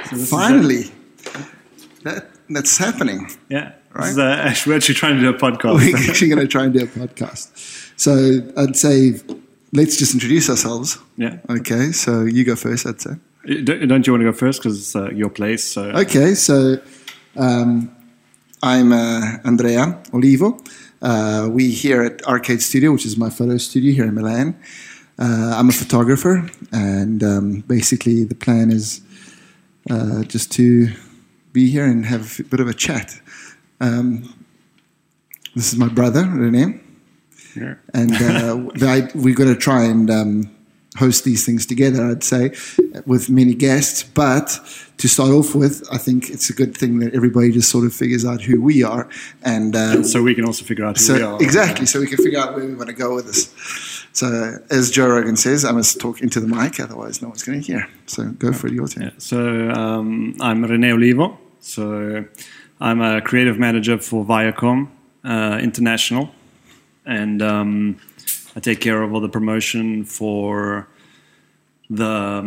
Finally, that's happening. Yeah. Right? We're actually trying to do a podcast. We're actually going to try and do a podcast. So I'd say let's just introduce ourselves. Yeah. Okay, so you go first, I'd say. Don't you want to go first because it's your place? So. Okay, so I'm Andrea Olivo. We here at Arcade Studio, which is my photo studio here in Milan. I'm a photographer, and basically the plan is just to be here and have a bit of a chat. This is my brother, René. Yeah. And we're going to try and host these things together, I'd say, with many guests. But to start off with, I think it's a good thing that everybody just sort of figures out who we are. And so we can also figure out who we are. Exactly, so we can figure out where we want to go with this. So as Joe Rogan says, I must talk into the mic, otherwise no one's going to hear. So go for it, your turn. Yeah. So I'm René Olivo. So I'm a creative manager for Viacom International. And I take care of all the promotion for the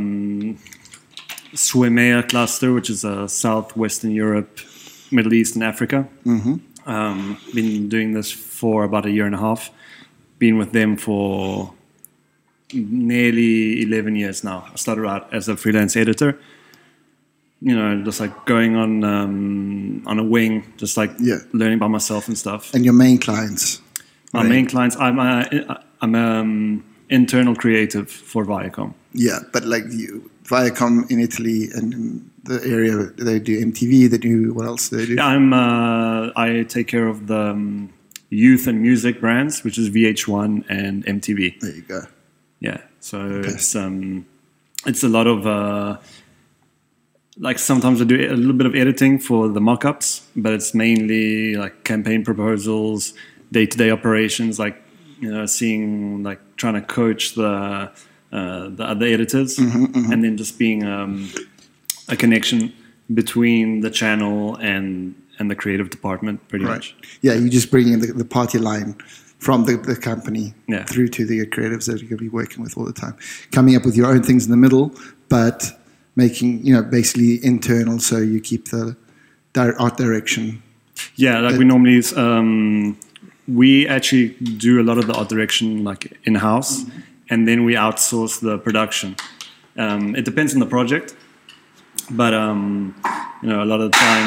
SWEMEA cluster, which is Southwestern Europe, Middle East, and Africa. Mm-hmm. Been doing this for about 1.5 years. Been with them for nearly 11 years now. I started out as a freelance editor. You know, just like going on a wing, just like learning by myself and stuff. And your main clients? My main clients, I'm internal creative for Viacom. Yeah, but like Viacom in Italy and in the area, they do MTV, they do, what else do they do? Yeah, I take care of the youth and music brands, which is VH1 and MTV. There you go. Yeah, so it's a lot of, like sometimes I do a little bit of editing for the mock-ups, but it's mainly like campaign proposals, day-to-day operations, like, you know, trying to coach the other editors, and then just being a connection between the channel and the creative department, pretty much. Yeah, you just bring in the party line from the company through to the creatives that you're going to be working with all the time, coming up with your own things in the middle, but making, you know, basically internal, so you keep the art direction. Yeah, like we normally we actually do a lot of the art direction like in-house, and then we outsource the production. It depends on the project, but you know, a lot of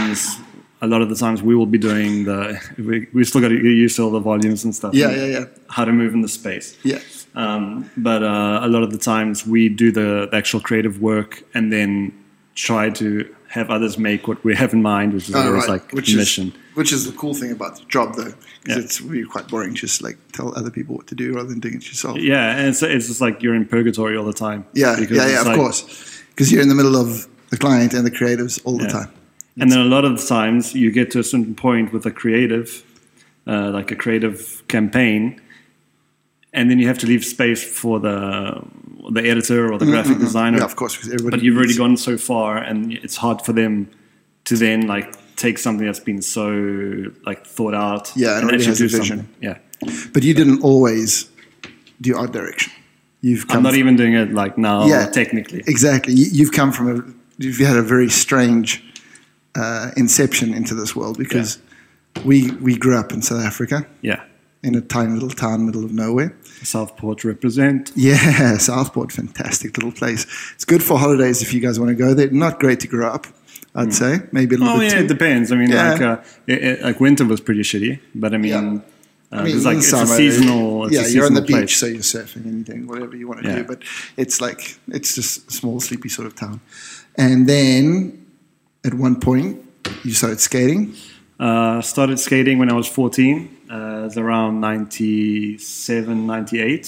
the times we will be doing we still got to get used to all the volumes and stuff. Yeah. How to move in the space. Yeah. But a lot of the times we do the actual creative work and then try to have others make what we have in mind, which is always like mission. Which is the cool thing about the job, though, because it's really quite boring. Just like tell other people what to do rather than doing it yourself. Yeah, and it's just like you're in purgatory all the time. Yeah, of course, because you're in the middle of the client and the creatives all the time. And then a lot of the times you get to a certain point with a creative, like a creative campaign, and then you have to leave space for the editor or the graphic designer. Yeah, of course. But you've already gone so far, and it's hard for them to then like take something that's been so like thought out. Yeah, and actually do vision. Something. Yeah. But you didn't always do art direction. I'm not even doing it like now. Yeah, technically. Exactly. You've come from you've had a very strange inception into this world, because we grew up in South Africa. Yeah. In a tiny little town, middle of nowhere. Southport represent. Yeah, Southport, fantastic little place. It's good for holidays if you guys want to go there. Not great to grow up, I'd say. Maybe a little bit too. It depends. I mean, like winter was pretty shitty, but I mean, it's a seasonal. You're on the beach, so you're surfing and doing whatever you want to do. But it's just a small, sleepy sort of town. And then at one point, you started skating. Started skating when I was 14. It was around 97, 98.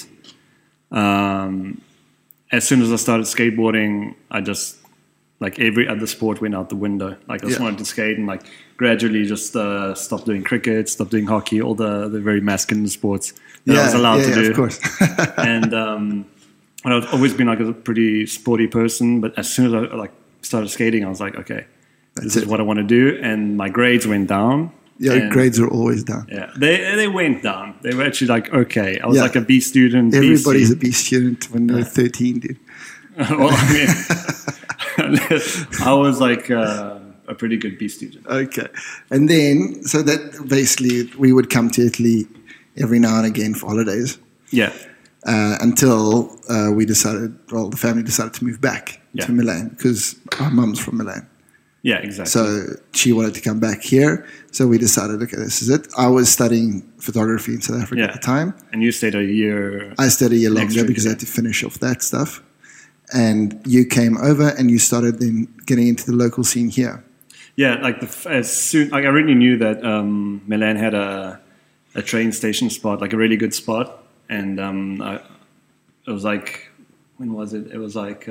As soon as I started skateboarding, I just, like every other sport, went out the window. Like I just wanted to skate, and like gradually just stopped doing cricket, stopped doing hockey, all the very masculine sports that I was allowed to do. Of course. And I've always been like a pretty sporty person, but as soon as I started skating, I was like, okay, this is what I want to do. And my grades went down. Yeah, grades are always down. Yeah, they went down. They were actually like, okay. I was like a B student. Everybody's a B student when they're 13, dude. Well, I mean, I was like a pretty good B student. Okay. And then, so that basically we would come to Italy every now and again for holidays. Yeah. Until the family decided to move back to Milan because our mum's from Milan. Yeah, exactly. So she wanted to come back here. So we decided, okay, this is it. I was studying photography in South Africa at the time. And you stayed a year. I stayed a year longer because I had to finish off that stuff. And you came over and you started then getting into the local scene here. Yeah, like I already knew that Milan had a train station spot, like a really good spot. And it was like, when was it? It was like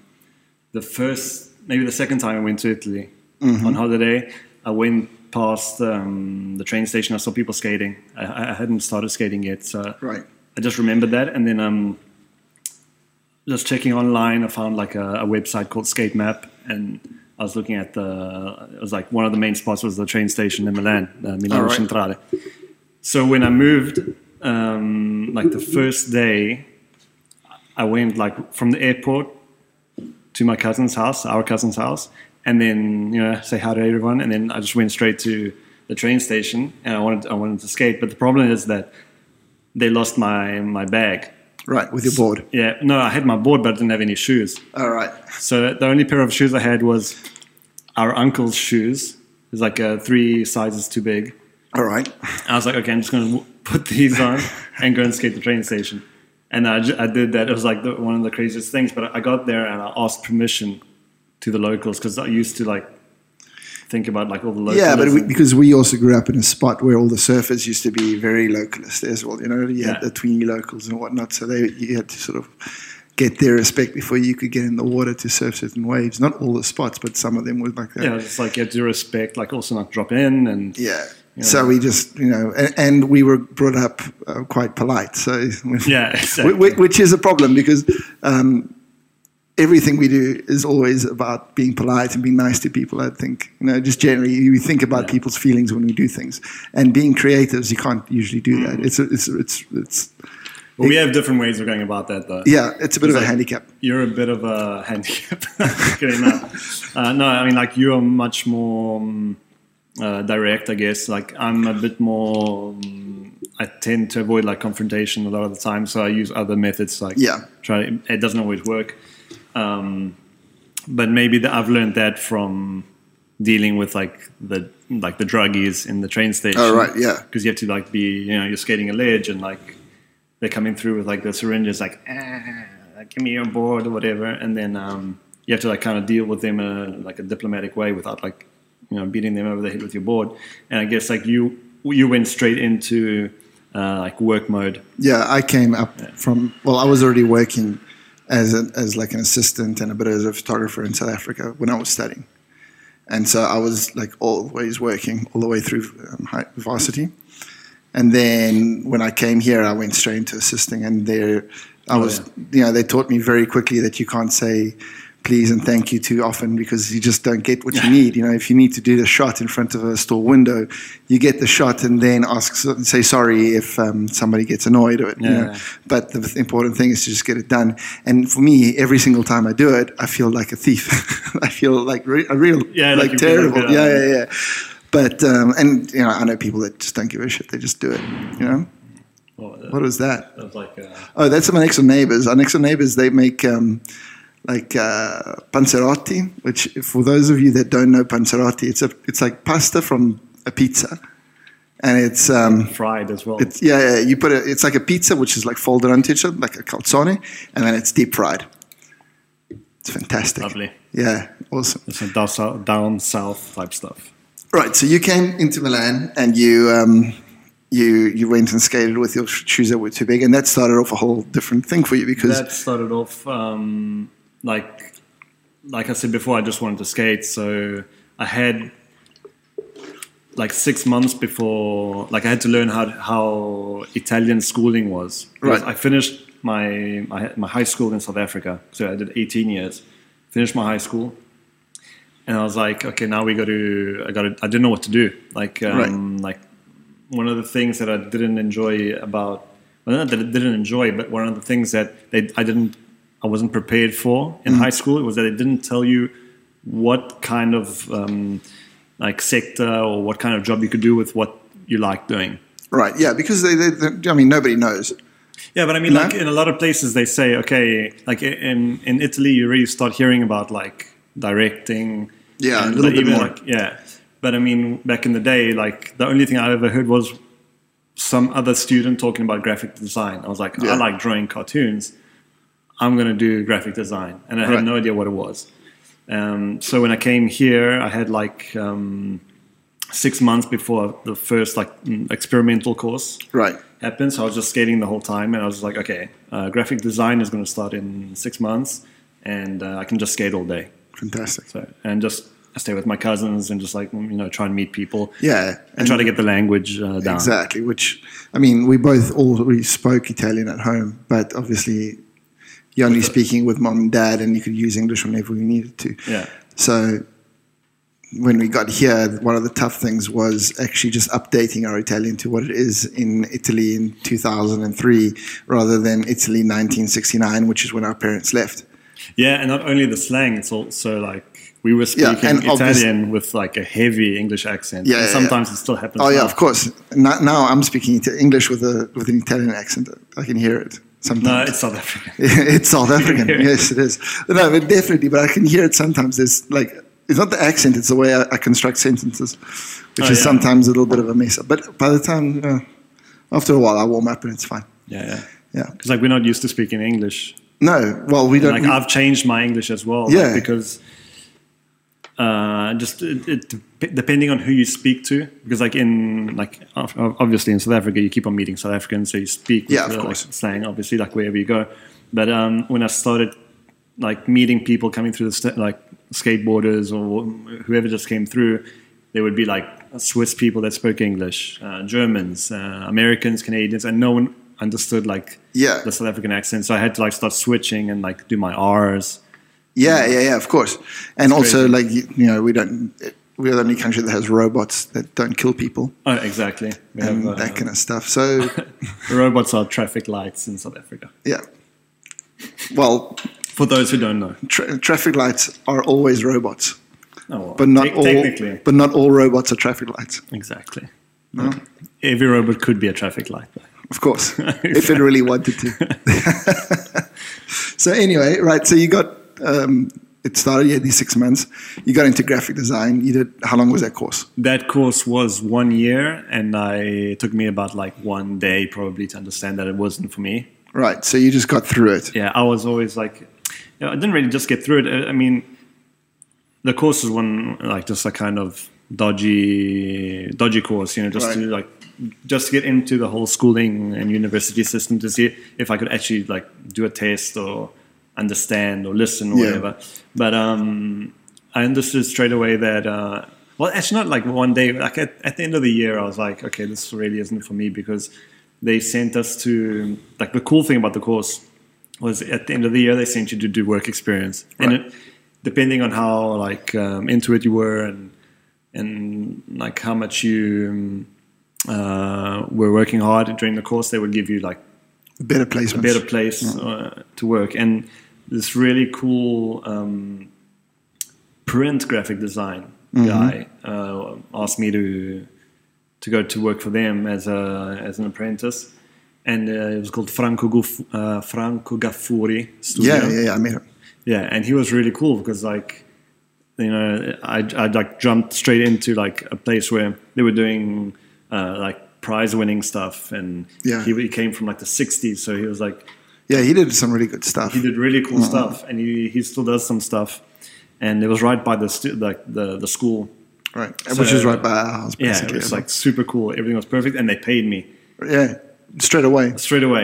maybe the second time I went to Italy on holiday. I went past the train station. I saw people skating. I hadn't started skating yet, so I just remembered that. And then just checking online, I found like a website called Skate Map, and I was looking at it was like one of the main spots was the train station in Milan, Milano Centrale. So when I moved, like the first day, I went like from the airport to my cousin's house, our cousin's house, and then say hi to everyone, and then I just went straight to the train station, and I wanted to skate, but the problem is that they lost my bag. Right, with your board. Yeah, no, I had my board, but I didn't have any shoes. All right. So the only pair of shoes I had was our uncle's shoes. It was like 3 sizes too big. All right. I was like, okay, I'm just going to put these on and go and skate the train station. And I did that. It was like one of the craziest things. But I got there and I asked permission to the locals because I used to like think about like all the locals. Yeah, but because we also grew up in a spot where all the surfers used to be very localist as well. You had the tweeny locals and whatnot. So you had to sort of get their respect before you could get in the water to surf certain waves. Not all the spots, but some of them were like that. Yeah, it's like you had to respect, like also not drop in and So we just, and we were brought up quite polite. So exactly. Which is a problem because everything we do is always about being polite and being nice to people. I think, just generally, you think about people's feelings when we do things. And being creatives, you can't usually do that. Well, we have different ways of going about that, though. Yeah, it's a bit of a handicap. You're a bit of a handicap. No, I mean, like you are much more direct, I guess. Like I'm a bit more. I tend to avoid like confrontation a lot of the time, so I use other methods. Like it doesn't always work. But maybe I've learned that from dealing with like the druggies in the train station. Oh right, yeah. Because you have to like be, you're skating a ledge and like they're coming through with like the syringes, like give me your board or whatever, and then you have to like kind of deal with them in a diplomatic way without like beating them over the head with your board. And I guess like you went straight into like work mode. Yeah, I came up from I was already working as like an assistant and a bit as a photographer in South Africa when I was studying. And so I was like always working all the way through varsity. And then when I came here, I went straight into assisting. And they taught me very quickly that you can't say please and thank you too often because you just don't get what you need. If you need to do the shot in front of a store window, you get the shot and then say sorry if somebody gets annoyed or But the important thing is to just get it done. And for me, every single time I do it, I feel like a thief. I feel like a real terrible. But I know people that just don't give a shit. They just do it. What was that? That was like that's my next door neighbors. Our next door neighbors, they make panzerotti, which for those of you that don't know panzerotti, it's like pasta from a pizza, and it's fried as well. You put it's like a pizza which is like folded onto each other like a calzone, and then it's deep fried. It's fantastic. Lovely. Yeah, awesome. It's some down south type stuff. Right. So you came into Milan and you went and skated with your shoes that were too big, and that started off a whole different thing for you because that started off. Like I said before, I just wanted to skate. So I had like 6 months before, like I had to learn how Italian schooling was. Right. I finished my high school in South Africa. So I did 18 years, finished my high school. And I was like, okay, now I didn't know what to do. Like one of the things that I didn't enjoy about, not that I didn't enjoy, but one of the things that I wasn't prepared for in high school was that they didn't tell you what kind of like sector or what kind of job you could do with what you like doing. Right. Yeah, because they I mean, nobody knows. Yeah, but I mean, like in a lot of places, they say, okay, like in Italy, you really start hearing about like directing. Yeah, a little bit more. Like, yeah, but I mean, back in the day, like the only thing I ever heard was some other student talking about graphic design. I was like, I like drawing cartoons. I'm going to do graphic design, and I had no idea what it was. So when I came here, I had like 6 months before the first like experimental course happened. So I was just skating the whole time, and I was like, okay, graphic design is going to start in 6 months, and I can just skate all day. Fantastic. So, and just stay with my cousins and just like, try and meet people. Yeah. And try to get the language down. Exactly. Which, I mean, we spoke Italian at home, but obviously you're only speaking with mom and dad, and you could use English whenever we needed to. Yeah. So when we got here, one of the tough things was actually just updating our Italian to what it is in Italy in 2003 rather than Italy 1969, which is when our parents left. Yeah, and not only the slang, it's also like we were speaking Italian with like a heavy English accent. Yeah, and sometimes it still happens. Oh, yeah, of course. Now I'm speaking English with an Italian accent. I can hear it sometimes. No, it's South African. It's South African. Yes, it is. No, but definitely. But I can hear it sometimes. There's like, it's not the accent, it's the way I construct sentences, which is sometimes a little bit of a mess up. But by the time, after a while, I warm up and it's fine. Yeah. Because like we're not used to speaking English. No, well, we don't. Like I've changed my English as well. Yeah. Like, because depending on who you speak to, because like obviously in South Africa, you keep on meeting South Africans, so you speak with like, slang, obviously, like wherever you go. But when I started like meeting people coming through like skateboarders or whoever just came through, there would be like Swiss people that spoke English, Germans, Americans, Canadians, and no one understood like the South African accent. So I had to like start switching and like do my R's. Yeah, of course. And it's also crazy. Like, we're the only country that has robots that don't kill people. Oh, exactly. And that kind of stuff. So robots are traffic lights in South Africa. Yeah. Well, for those who don't know, traffic lights are always robots. Oh, well, but not all robots are traffic lights. Exactly. No? Every robot could be a traffic light, though. Of course, if it really wanted to. So anyway, right, so you got, it started, you had these 6 months. You got into graphic design. How long was that course? That course was 1 year, and it took me about like 1 day probably to understand that it wasn't for me. Right, so you just got through it. Yeah, I was always like, I didn't really just get through it. I mean, the course was just a kind of dodgy course, just to get into the whole schooling and university system to see if I could actually like do a test or understand or listen or whatever. But I understood straight away that, actually not like 1 day, like at the end of the year, I was like, okay, this really isn't for me, because they sent us to, like, the cool thing about the course was at the end of the year, they sent you to do work experience. Right. And depending on how like into it you were and like how much you were working hard during the course, they would give you like a better place to work. And this really cool print graphic design guy asked me to go to work for them as an apprentice, and it was called Franco Gaffuri Studio. Yeah, I met him. Yeah, and he was really cool because like, I like jumped straight into like a place where they were doing like prize winning stuff, and he came from like the 60s, so he was like, he did some really good stuff. He did really cool stuff, and he still does some stuff, and it was right by the school. Right, which is right by our house, basically. Yeah, it was like super cool. Everything was perfect, and they paid me. Yeah, straight away.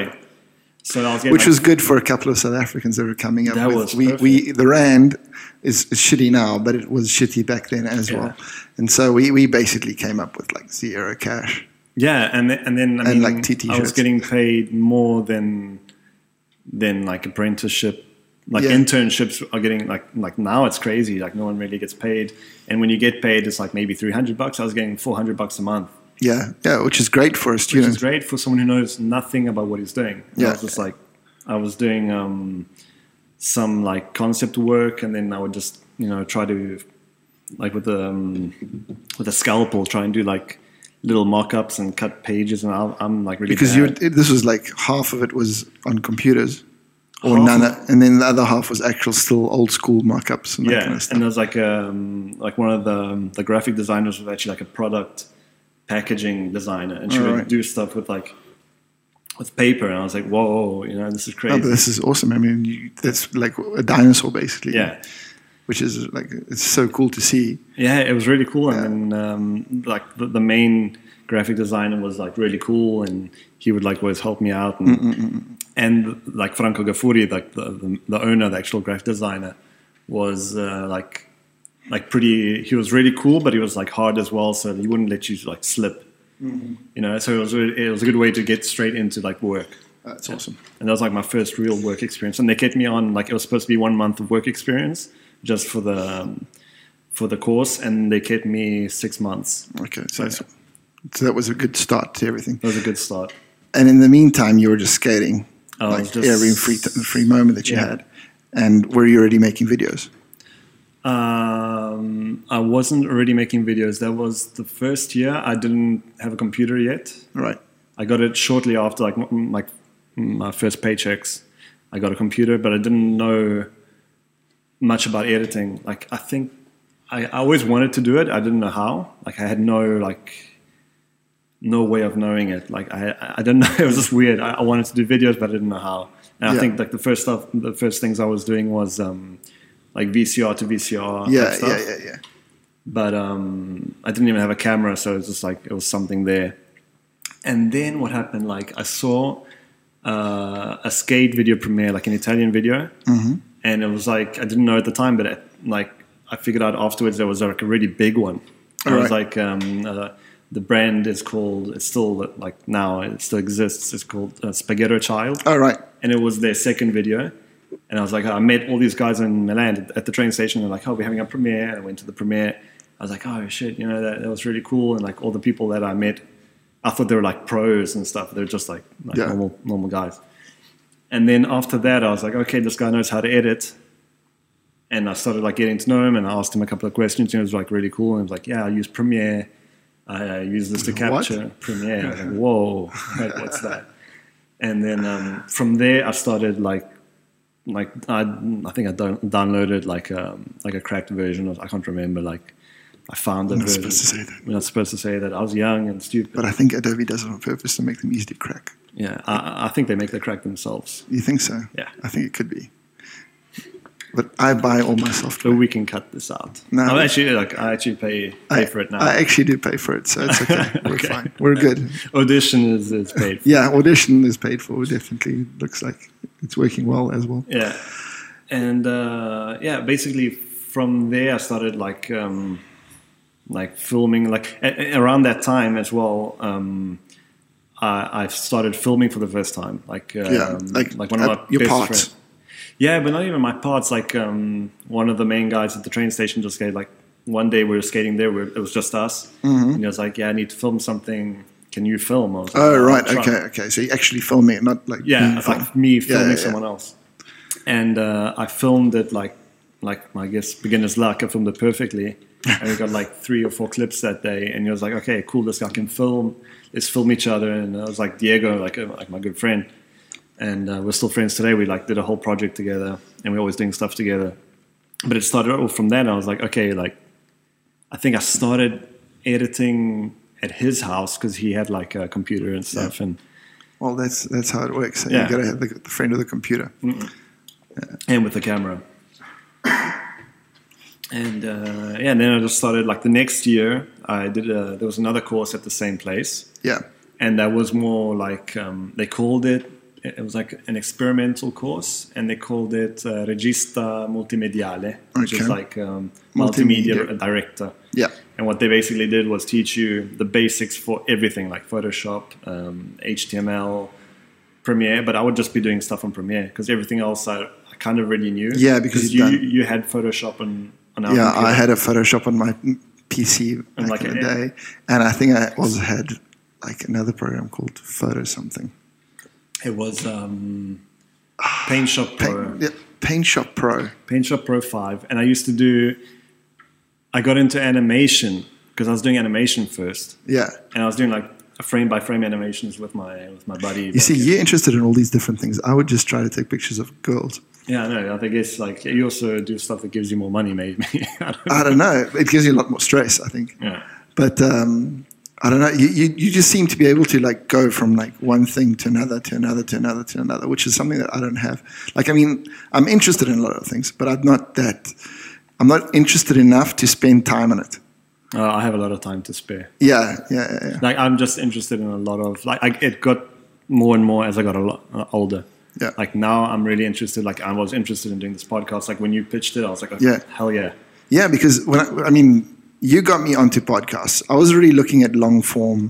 So I was getting, which was good for a couple of South Africans that were coming up. That was perfect. The rand is shitty now, but it was shitty back then as well. And so we basically came up with like zero cash. Yeah, and then I mean, like TT I was getting paid more than like apprenticeship. Like internships are getting like now it's crazy. Like no one really gets paid, and when you get paid, it's like maybe $300. I was getting $400 a month. Yeah, which is great for a student. Which is great for someone who knows nothing about what he's doing. And I was just like, I was doing some like concept work, and then I would just try to like with a scalpel try and do like little mock-ups and cut pages, and I'm like really because bad. This was like half of it was on computers, or none, and then the other half was actual still old school mock-ups and that kind of stuff. And there's like one of the graphic designers was actually like a product packaging designer, and she would do stuff with paper, and I was like, whoa, this is crazy. Oh, but this is awesome. I mean, that's like a dinosaur basically. Yeah. Which is like, it's so cool to see. Yeah, it was really cool. Yeah. And then like the main graphic designer was like really cool, and he would like always help me out. And like Franco Gaffuri, like the owner, the actual graphic designer, was like pretty. He was really cool, but he was like hard as well, so he wouldn't let you like slip. So it was a good way to get straight into like work. That's awesome. And that was like my first real work experience. And they kept me on, like it was supposed to be 1 month of work experience just for the course, and they kept me 6 months. Okay, so that was a good start to everything. It was a good start. And in the meantime, you were just skating, every free moment that you had. And were you already making videos? I wasn't already making videos. That was the first year. I didn't have a computer yet. Right. I got it shortly after like my first paychecks. I got a computer, but I didn't know much about editing. Like I think I always wanted to do it. I didn't know how. Like I had no way of knowing it. Like I didn't know. It was just weird. I wanted to do videos, but I didn't know how. And I think like the first things I was doing was like VCR to VCR stuff. Yeah. But I didn't even have a camera, so it was just like it was something there. And then what happened? Like I saw a skate video premiere, like an Italian video, and it was like I didn't know at the time, but I figured out afterwards there was like a really big one. It was like the brand is called. It's still like now it still exists. It's called Spaghetto Child. Oh right. And it was their second video. And I was like, I met all these guys in Milan at the train station. They're like, oh, we're having a premiere. And I went to the premiere. I was like, oh, shit, that was really cool. And like all the people that I met, I thought they were like pros and stuff. They're just like normal guys. And then after that, I was like, okay, this guy knows how to edit. And I started like getting to know him. And I asked him a couple of questions. And it was like really cool. And he was like, yeah, I use Premiere. I use this to capture Premiere. I was like, whoa, what's that? And then from there, I started I think I downloaded like a cracked version of, I can't remember, like I found it. You're not supposed to say that. We're not supposed to say that. I was young and stupid. But I think Adobe does it on purpose to make them easy to crack. Yeah, I think they make the crack themselves. You think so? Yeah. I think it could be. But I buy all my software. So we can cut this out. No, I actually pay for it now. I actually do pay for it, so it's okay. We're fine. We're good. Audition is paid for. Yeah, Audition is paid for. Definitely looks like it's working well as well. Yeah. And basically from there I started like filming. Like around that time as well, I started filming for the first time. Like one of my your best parts. friends. Yeah, but not even my parts. Like one of the main guys at the train station just gave like one day we were skating there. It was just us, and he was like, "Yeah, I need to film something. Can you film?" I was like, oh right, okay. So you actually filming it, not like like me filming someone else. And I filmed it like I guess beginner's luck. I filmed it perfectly, and we got like 3 or 4 clips that day. And he was like, "Okay, cool. This guy can film. Let's film each other." And I was like, Diego, like my good friend. And we're still friends today. We like did a whole project together, and we're always doing stuff together. But it started all from that. And I was like, okay, like I think I started editing at his house because he had like a computer and stuff. Yeah. And well, that's how it works. You got to have the friend of the computer, and with the camera. And and then I just started like the next year. I did there was another course at the same place. Yeah, and that was more like they called it. It was like an experimental course, and they called it Regista Multimediale, which is like multimedia director. Yeah. And what they basically did was teach you the basics for everything, like Photoshop, HTML, Premiere. But I would just be doing stuff on Premiere because everything else I kind of already knew. Yeah, because you had Photoshop on our computer. I had a Photoshop on my PC back in the day, and I think I also had like another program called Photo something. It was Paint Shop Pro. Paint Shop Pro. Paint Shop Pro 5. And I got into animation because I was doing animation first. Yeah. And I was doing like frame by frame animations with my buddy. You see, you're interested in all these different things. I would just try to take pictures of girls. Yeah, I know. I think it's like you also do stuff that gives you more money, maybe. I don't know. It gives you a lot more stress, I think. Yeah. But I don't know. You just seem to be able to like go from like one thing to another, to another, to another, to another, which is something that I don't have. Like, I mean, I'm interested in a lot of things, but I'm not interested enough to spend time on it. I have a lot of time to spare. Yeah. Like, I'm just interested in a lot of it got more and more as I got a lot older. Yeah. Like now I'm really interested. Like I was interested in doing this podcast. Like when you pitched it, I was like, oh, yeah, hell yeah. Yeah, because you got me onto podcasts. I was really looking at long form,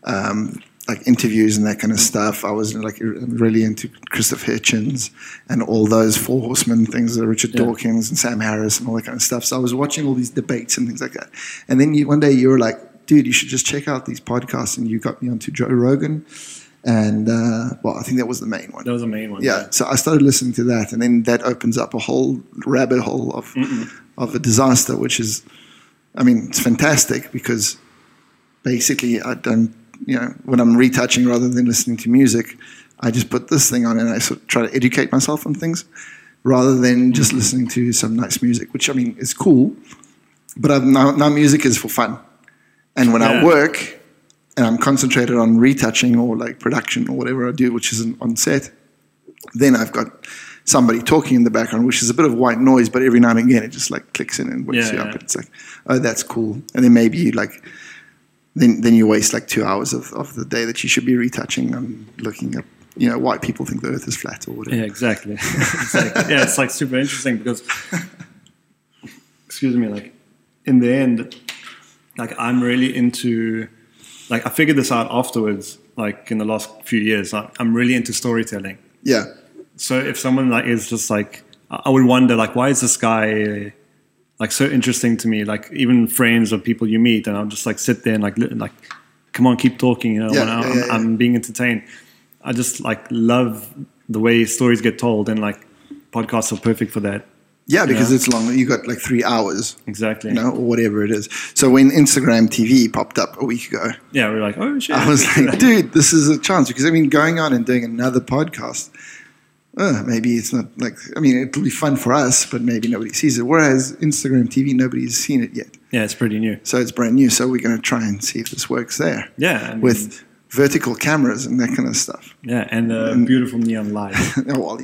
like interviews and that kind of stuff. I was like really into Christopher Hitchens and all those Four Horsemen things, Richard Dawkins and Sam Harris and all that kind of stuff. So I was watching all these debates and things like that. And then one day you were like, dude, you should just check out these podcasts. And you got me onto Joe Rogan. And, I think that was the main one. That was the main one. Yeah. So I started listening to that. And then that opens up a whole rabbit hole of a disaster, which is, it's fantastic because basically I don't, when I'm retouching rather than listening to music, I just put this thing on and I sort of try to educate myself on things rather than just listening to some nice music, which is cool. But now music is for fun. And when I work and I'm concentrated on retouching or like production or whatever I do, which is on set, then I've got somebody talking in the background, which is a bit of white noise, but every now and again it just like clicks in and wakes you up. And it's like, oh, that's cool. And then maybe you like, then you waste like 2 hours of the day that you should be retouching and looking up, why people think the earth is flat or whatever. Yeah, exactly. Yeah, it's like super interesting because, excuse me, like in the end, like I'm really into, like I figured this out afterwards, like in the last few years, I'm really into storytelling. Yeah. So if someone like is just like, I would wonder like, why is this guy like so interesting to me? Like even friends or people you meet, and I'll just like sit there and like, come on, keep talking. I'm being entertained. I just like love the way stories get told, and like podcasts are perfect for that. Yeah, because it's long. You got like 3 hours. Exactly. Or whatever it is. So when Instagram TV popped up a week ago. Yeah, we were like, oh shit. I was like, dude, this is a chance. Because going on and doing another podcast, maybe it's not like, it'll be fun for us, but maybe nobody sees it. Whereas Instagram TV, nobody's seen it yet. Yeah, it's pretty new. So it's brand new. So we're going to try and see if this works there. Yeah. With vertical cameras and that kind of stuff. Yeah, and beautiful neon light. Well,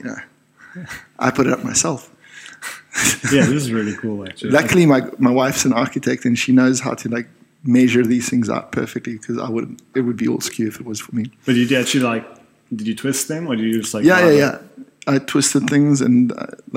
I put it up myself. Yeah, this is really cool, actually. Luckily, my wife's an architect and she knows how to like measure these things out perfectly because it would be all skew if it was for me. But did you actually did you twist them or did you just like... Yeah. I twisted things and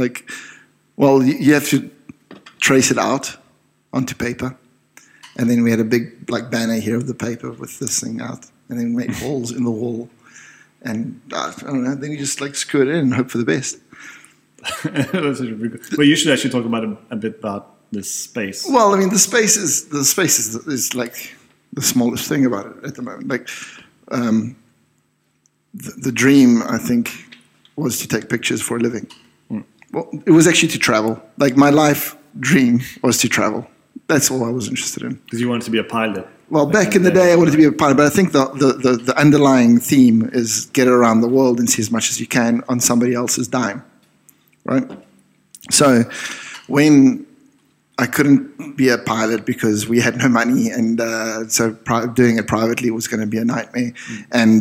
you have to trace it out onto paper. And then we had a big like banner here of the paper with this thing out. And then we made holes in the wall. And I don't know, then you just like screw it in and hope for the best. That's really good. Well, you should actually talk about a bit about this space. Well, the space is like the smallest thing about it at the moment. Like the dream, I think, was to take pictures for a living. Well, it was actually to travel. Like my life dream was to travel. That's all I was interested in. Because you wanted to be a pilot. Well, back in the day, I wanted to be a pilot, but I think the underlying theme is get around the world and see as much as you can on somebody else's dime. Right? So when I couldn't be a pilot because we had no money and so doing it privately was going to be a nightmare. And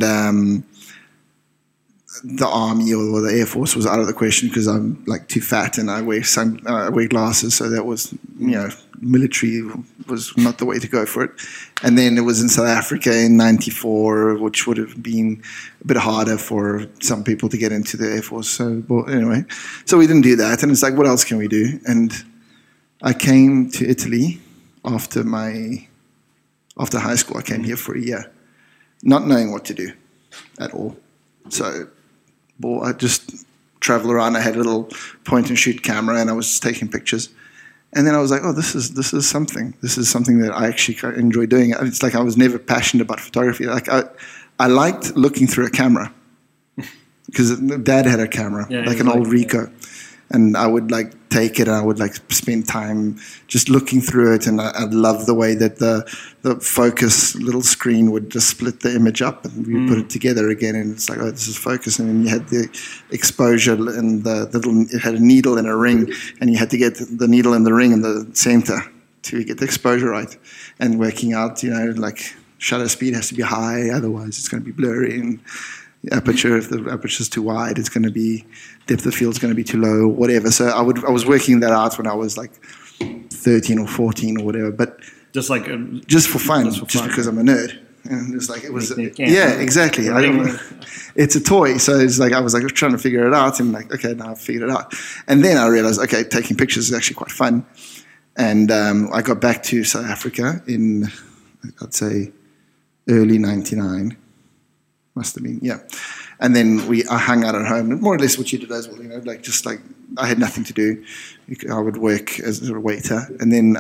the Army or the Air Force was out of the question because I'm like too fat and I wear glasses. So that was, military was not the way to go for it. And then it was in South Africa in 94, which would have been a bit harder for some people to get into the Air Force. So anyway, so we didn't do that. And it's like, what else can we do? And I came to Italy after high school. I came here for a year, not knowing what to do at all. So I just traveled around. I had a little point-and-shoot camera, and I was just taking pictures. And then I was like, oh, this is something. This is something that I actually enjoy doing. It's like I was never passionate about photography. Like I liked looking through a camera because Dad had a camera, like an old Ricoh. And I would like take it and I would like spend time just looking through it. And I love the way that the focus little screen would just split the image up and we put it together again. And it's like, oh, this is focus. And then you had the exposure and the little, it had a needle and a ring, and you had to get the needle and the ring in the center to get the exposure right. And working out, like shutter speed has to be high, otherwise it's going to be blurry. And aperture, if the aperture is too wide, it's going to be, depth of field is going to be too low, whatever. So I was working that out when I was like 13 or 14 or whatever, but just for fun, just because I'm a nerd. And it's like, it was, exactly. It's a toy. So it's like, I was like trying to figure it out, and like, okay, now I've figured it out. And then I realized, okay, taking pictures is actually quite fun. And I got back to South Africa in, I'd say, early 99. Must have been, yeah. And then I hung out at home, more or less what you did as well, like just like I had nothing to do. I would work as a waiter, and then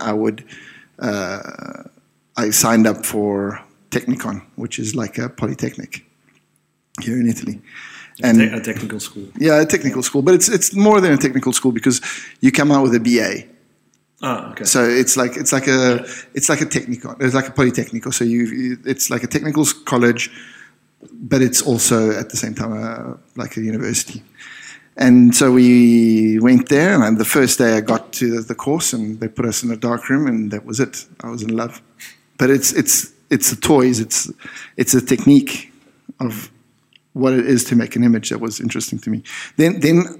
I signed up for Technikon, which is like a polytechnic here in Italy. And a technical school. Yeah, a technical school, but it's more than a technical school because you come out with a BA. Oh, okay. So it's like a Technikon. It's like a polytechnical. So it's like a technical college, but it's also at the same time like a university. And so we went there, and the first day I got to the course, and they put us in a dark room, and that was it. I was in love. But it's the toys. It's a technique of what it is to make an image that was interesting to me. Then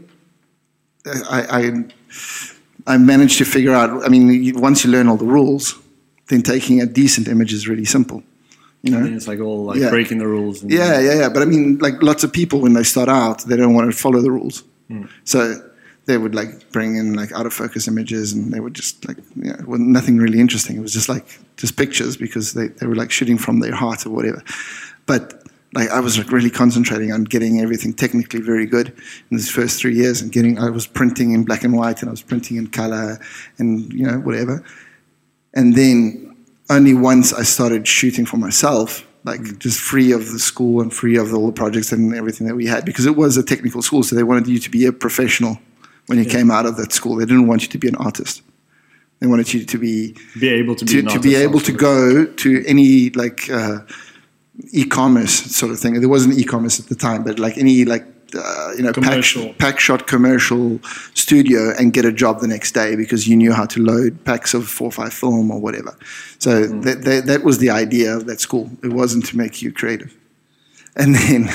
I managed to figure out. I mean, once you learn all the rules, then taking a decent image is really simple. It's like all like breaking the rules. Yeah. But I mean, like lots of people when they start out, they don't want to follow the rules. So they would like bring in like out of focus images, and they would just like, well, nothing really interesting. It was just like just pictures because they were like shooting from their heart or whatever. But like I was like really concentrating on getting everything technically very good in these first 3 years, and I was printing in black and white, and I was printing in color, and whatever. And then only once I started shooting for myself, like just free of the school and free of all the projects and everything that we had, because it was a technical school, so they wanted you to be a professional when you came out of that school. They didn't want you to be an artist. They wanted you to be able to go to any like e-commerce sort of thing. There wasn't e-commerce at the time, but like any like pack shot commercial studio and get a job the next day because you knew how to load packs of 4:5 film or whatever. So that was the idea of that school. It wasn't to make you creative. And then,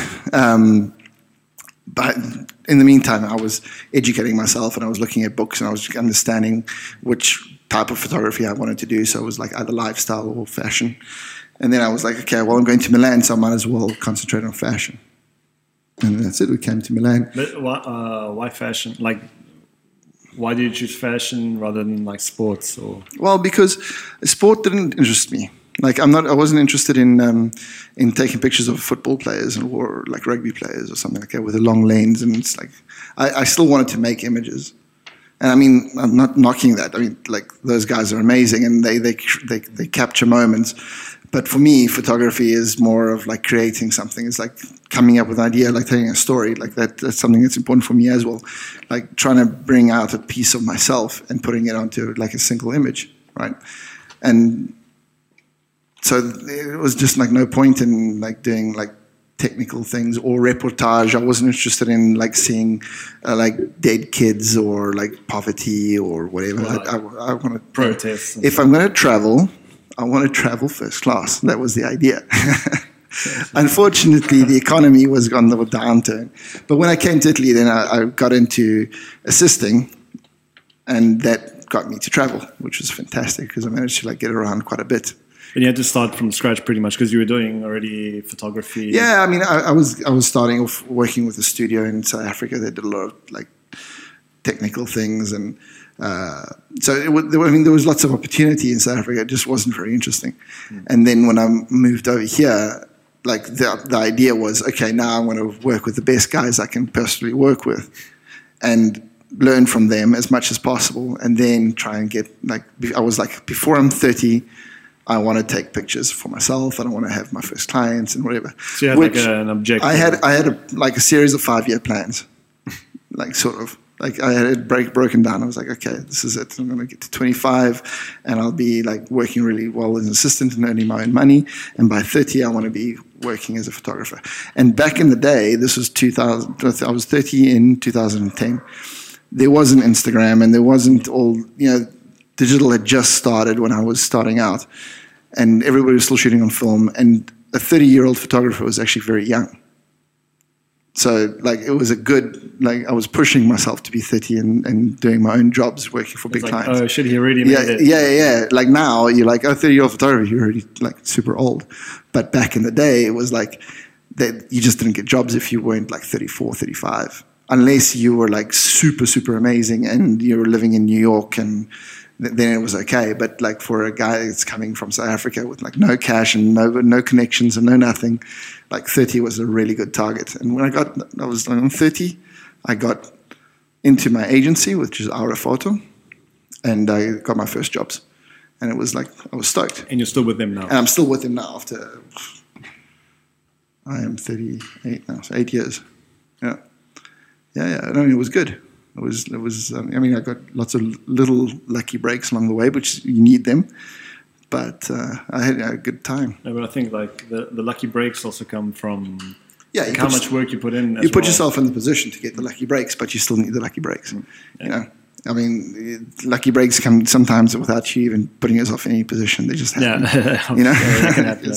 but in the meantime, I was educating myself, and I was looking at books, and I was understanding which type of photography I wanted to do. So it was like either lifestyle or fashion. And then I was like, okay, well, I'm going to Milan, so I might as well concentrate on fashion. And that's it. We came to Milan. But why fashion? Like, why did you choose fashion rather than like sports? Or well, because sport didn't interest me. Like I wasn't interested in taking pictures of football players or like rugby players or something like that with a long lens. And it's like I still wanted to make images. And I mean, I'm not knocking that. I mean, like those guys are amazing, and they capture moments. But for me, photography is more of like creating something. It's like coming up with an idea, like telling a story. Like that's something that's important for me as well. Like trying to bring out a piece of myself and putting it onto like a single image, right? And so it was just like no point in like doing like technical things or reportage. I wasn't interested in like seeing like dead kids or like poverty or whatever. I want to protest. If I'm going to travel, I want to travel first class. That was the idea. Unfortunately, the economy was on the downturn. But when I came to Italy, then I got into assisting, and that got me to travel, which was fantastic because I managed to like get around quite a bit. And you had to start from scratch pretty much because you were doing already photography. Yeah, I mean, I was starting off working with a studio in South Africa that did a lot of like technical things, and so there was lots of opportunity in South Africa. It just wasn't very interesting. And then when I moved over here, like the idea was, okay, now I'm going to work with the best guys I can personally work with, and learn from them as much as possible, and then try and get like I was like, before I'm 30. I want to take pictures for myself. I don't want to have my first clients and whatever. So you had like an objective. I had a series of 5-year plans, like sort of Like I had it broken down. I was like, okay, this is it. I'm going to get to 25 and I'll be like working really well as an assistant and earning my own money. And by 30, I want to be working as a photographer. And back in the day, this was 2000, I was 30 in 2010. There wasn't Instagram and there wasn't all, digital had just started when I was starting out. And everybody was still shooting on film. And a 30-year-old photographer was actually very young. So, like, it was I was pushing myself to be 30 and doing my own jobs, working for big clients. Oh, shit, he already made it. Yeah. Like, now, you're like, 30-year-old photographer, you're already, like, super old. But back in the day, it was like, that you just didn't get jobs if you weren't, like, 34, 35. Unless you were, like, super, super amazing and you were living in New York, and then it was okay. But, like, for a guy that's coming from South Africa with, like, no cash and no connections and no nothing, like 30 was a really good target. And when I was on 30, I got into my agency, which is Aura Photo, and I got my first jobs. And it was like, I was stoked. And you're still with them now? And I'm still with them now after, I am 38 now, so 8 years. Yeah. I mean, it was good. It was. I mean, I got lots of little lucky breaks along the way, which you need them. But I had a good time. No, but I think like the lucky breaks also come from how much work you put in. You put yourself in the position to get the lucky breaks, but you still need the lucky breaks. Yeah. I mean, lucky breaks come sometimes without you even putting yourself in any position. They just happen. That can happen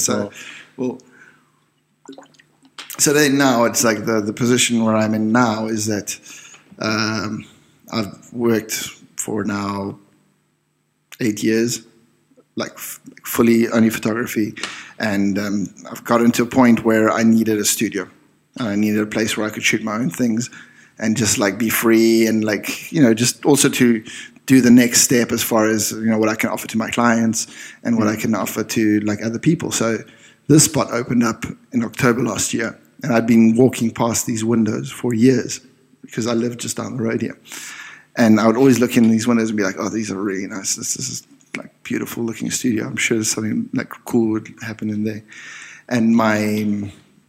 So then now it's like the position where I'm in now is that I've worked for now 8 years. Like fully only photography, and I've gotten to a point where I needed a studio. I needed a place where I could shoot my own things and just like be free and like, just also to do the next step as far as, what I can offer to my clients and what I can offer to like other people. So this spot opened up in October last year, and I'd been walking past these windows for years because I lived just down the road here. And I would always look in these windows and be like, oh, these are really nice. This is like beautiful looking studio. I'm sure something like cool would happen in there. And my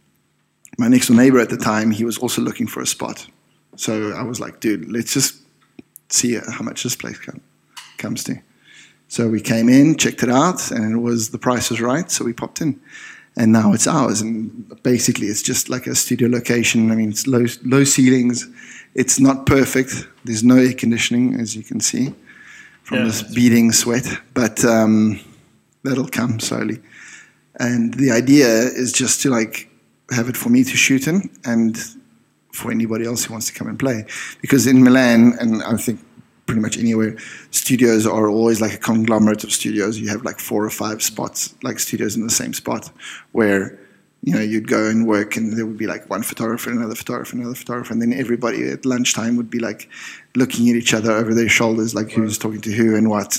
next door neighbor at the time, he was also looking for a spot. So I was like, dude, let's just see how much this place comes to. So we came in, checked it out, and the price was right. So we popped in, and now it's ours. And basically, it's just like a studio location. I mean, it's low ceilings. It's not perfect. There's no air conditioning, as you can see, from this beating sweat, but that'll come slowly. And the idea is just to like have it for me to shoot in and for anybody else who wants to come and play. Because in Milan, and I think pretty much anywhere, studios are always like a conglomerate of studios. You have like 4 or 5 spots, like studios in the same spot, where you'd go and work, and there would be like one photographer, another photographer, another photographer, and then everybody at lunchtime would be like looking at each other over their shoulders, like who's talking to who and what,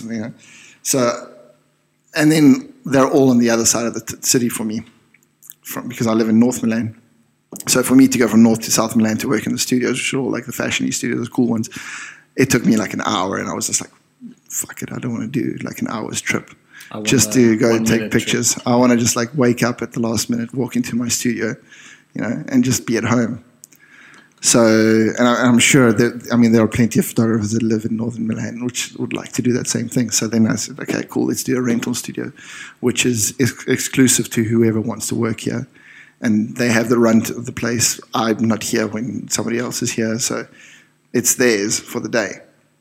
So, and then they're all on the other side of the city for me, because I live in North Milan. So for me to go from North to South Milan to work in the studios, which are all like the fashion-y studios, the cool ones, it took me like an hour, and I was just like, fuck it, I don't want to do like an hour's trip. Just to go and take pictures. Trip. I want to just like wake up at the last minute, walk into my studio, and just be at home. So, and I'm sure that, there are plenty of photographers that live in northern Milan which would like to do that same thing. So then I said, okay, cool, let's do a rental studio, which is exclusive to whoever wants to work here. And they have the run of the place. I'm not here when somebody else is here. So it's theirs for the day,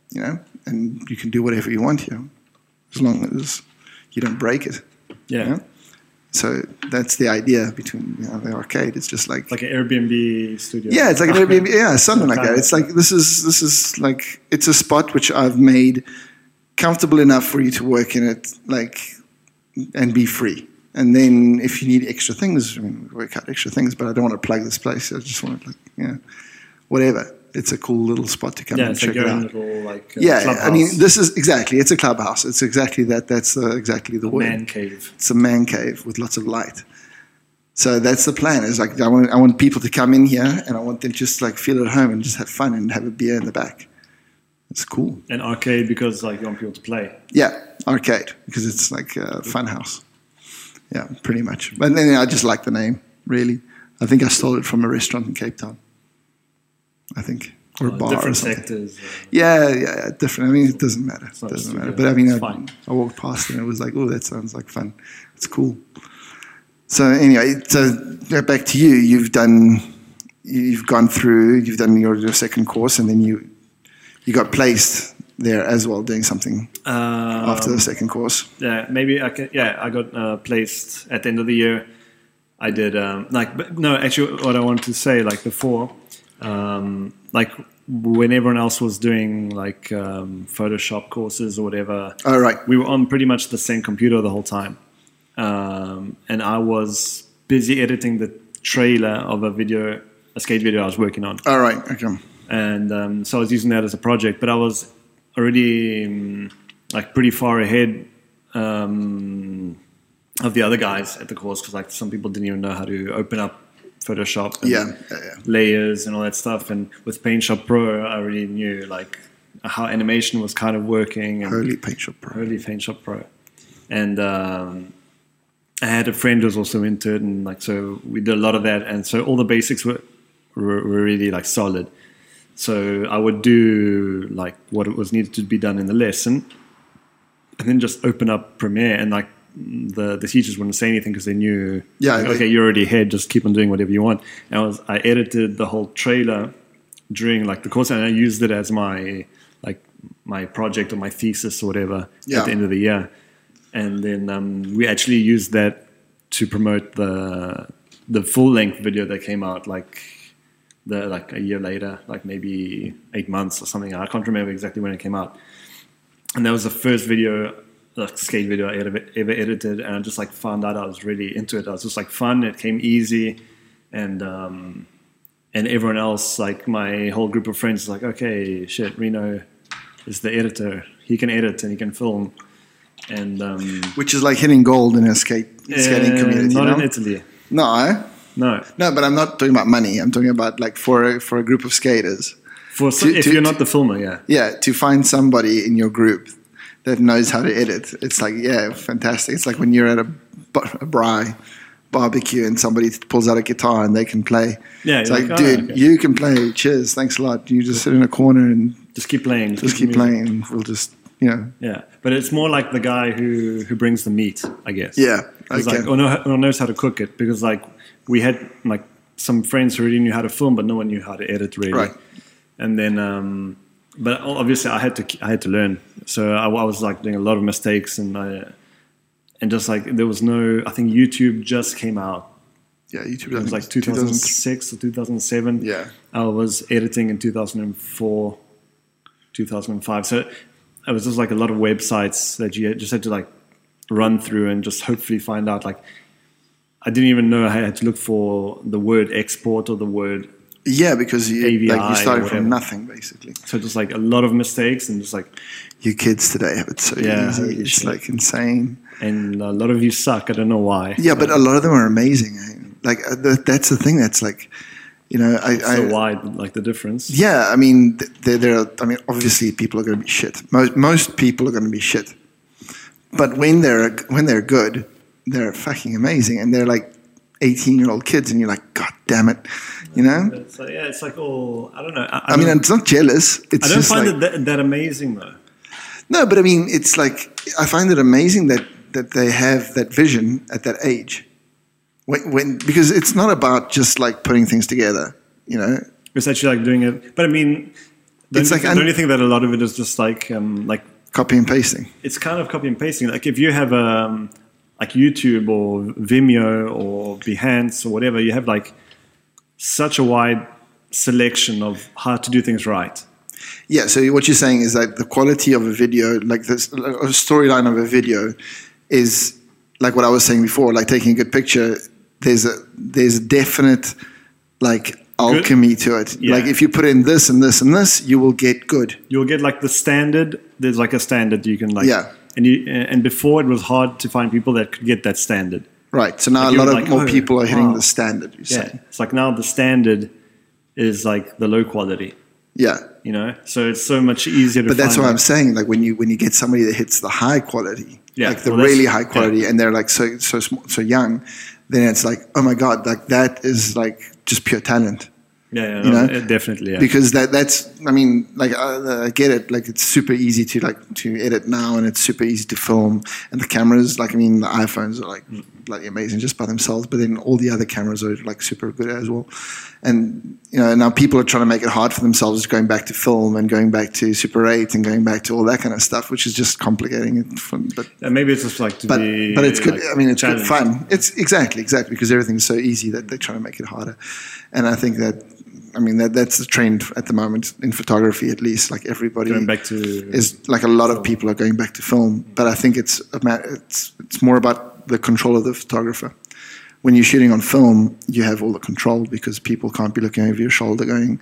and you can do whatever you want here, as long as you don't break it. Yeah. So that's the idea between the arcade. It's just like an Airbnb studio. Yeah, it's like an Airbnb. Yeah, something like that. It's like this is like it's a spot which I've made comfortable enough for you to work in it, like, and be free. And then if you need extra things, work out extra things. But I don't want to plug this place. I just want to whatever. It's a cool little spot to come and check it out. Little, clubhouse. This is exactly, it's a clubhouse. It's exactly that. That's exactly the word. Man cave. It's a man cave with lots of light. So that's the plan. Is like I want people to come in here, and I want them just like feel at home and just have fun and have a beer in the back. It's cool. And arcade because like you want people to play. Yeah, arcade because it's like a fun house. Yeah, pretty much. But then I just like the name, really. I think I stole it from a restaurant in Cape Town. I think. or a bar different or something. sectors. Yeah, different. I mean, it doesn't matter. It doesn't matter. But I mean, I walked past and it was like, oh, that sounds like fun. It's cool. So anyway, back to you. You've done your second course, and then you got placed there as well, doing something after the second course. Yeah, maybe I can. Yeah, I got placed at the end of the year. I did actually, what I wanted to say, like before, like when everyone else was doing like Photoshop courses or whatever. Oh, right. We were on pretty much the same computer the whole time, and I was busy editing the trailer of a skate video I was working on. All right. Okay. And so I was using that as a project, but I was already like pretty far ahead of the other guys at the course, because like some people didn't even know how to open up Photoshop and layers and all that stuff. And with PaintShop Pro, I already knew like how animation was kind of working. And Holy PaintShop Pro. And I had a friend who was also into it, and like so we did a lot of that, and so all the basics were really like solid. So I would do like what was needed to be done in the lesson, and then just open up Premiere, and like the teachers wouldn't say anything because they knew, okay, you're already ahead, just keep on doing whatever you want. And I edited the whole trailer during like the course, and I used it as my project or my thesis or whatever at the end of the year. And then we actually used that to promote the full length video that came out like a year later, like maybe 8 months or something. I can't remember exactly when it came out. And that was the first video, like skate video I ever edited, and I just like found out I was really into it. I was just like fun. It came easy, and everyone else, like my whole group of friends, is like, okay, shit, Reno is the editor. He can edit and he can film, and which is like hitting gold in a skating community. Not in Italy. No, but I'm not talking about money. I'm talking about like for a group of skaters. If you're not the filmer, to find somebody in your group that knows how to edit, it's like, fantastic. It's like when you're at a barbecue and somebody pulls out a guitar and they can play. Yeah, it's like, dude, you can play. Cheers, thanks a lot. You just sit in a corner and just keep playing. Just keep playing. We'll just, Yeah, but it's more like the guy who brings the meat, I guess. Yeah, okay. Like, or knows how to cook it, because like we had like some friends who already knew how to film, but no one knew how to edit really. Right. And then, but obviously I had to learn. So I was like doing a lot of mistakes, and just like there was no. I think YouTube just came out. Yeah, YouTube. It was like 2006 or 2007. Yeah. I was editing in 2004, 2005. So it was just like a lot of websites that you just had to like run through and just hopefully find out. Like I didn't even know I had to look for the word export or the word. Yeah, because you started from nothing, basically. So just like a lot of mistakes, and just like... You kids today have it so easy. It's like insane. And a lot of you suck. I don't know why. Yeah, but a lot of them are amazing. Like that's the thing that's like, so wide, like the difference. Yeah, I mean, obviously people are going to be shit. Most people are going to be shit. But when they're good, they're fucking amazing. And they're like 18-year-old kids, and you're like, God damn it, It's like, it's like all, I don't know. I mean, it's not jealous. It's I don't just find it that amazing though. No, but I mean, it's like, I find it amazing that they have that vision at that age. Because it's not about just like putting things together, It's actually like doing it. But I mean, don't you think that a lot of it is just like copy and pasting? It's kind of copy and pasting. Like if you have like YouTube or Vimeo or Behance or whatever, you have like such a wide selection of how to do things right. Yeah, so what you're saying is that the quality of a video, like this, a storyline of a video is like what I was saying before, like taking a good picture, there's a definite like alchemy to it. Yeah. Like if you put in this and this and this, you will get good. You'll get like the standard. There's like a standard you can like... Yeah. And before it was hard to find people that could get that standard. Right. So now like a lot more people are hitting the standard. It's like now the standard is like the low quality. Yeah. So it's so much easier to But that's what I'm saying. Like when you get somebody that hits the high quality, like the really high quality, and they're like so young, then it's like, oh my God, like that is like just pure talent. Definitely. Yeah. Because that's, I mean, like I get it. Like it's super easy to edit now, and it's super easy to film. And the cameras, like I mean, the iPhones are like bloody amazing just by themselves. But then all the other cameras are like super good as well. And now people are trying to make it hard for themselves, going back to film and going back to Super 8 and going back to all that kind of stuff, which is just complicating it. But maybe it's just like but it's good. I mean, it's good fun. It's exactly because everything's so easy that they're trying to make it harder. And I think that. I mean, that's the trend at the moment in photography, at least. Like everybody going back to is like a lot of people are going back to film, but I think it's more about the control of the photographer. When you're shooting on film, you have all the control because people can't be looking over your shoulder, going,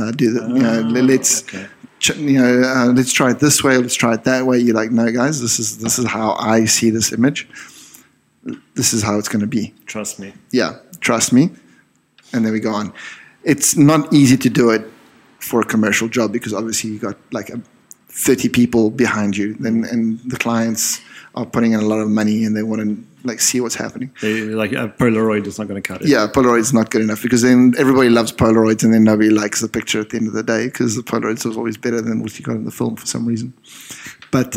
let's try it this way, let's try it that way. You're like, no, guys, this is how I see this image. This is how it's going to be. Trust me. Yeah, trust me, and then we go on. It's not easy to do it for a commercial job because obviously you got like 30 people behind you, and the clients are putting in a lot of money and they want to like see what's happening. Like a Polaroid is not going to cut it. Yeah, Polaroid is not good enough because then everybody loves Polaroids and then nobody likes the picture at the end of the day because the Polaroids is always better than what you got in the film for some reason. But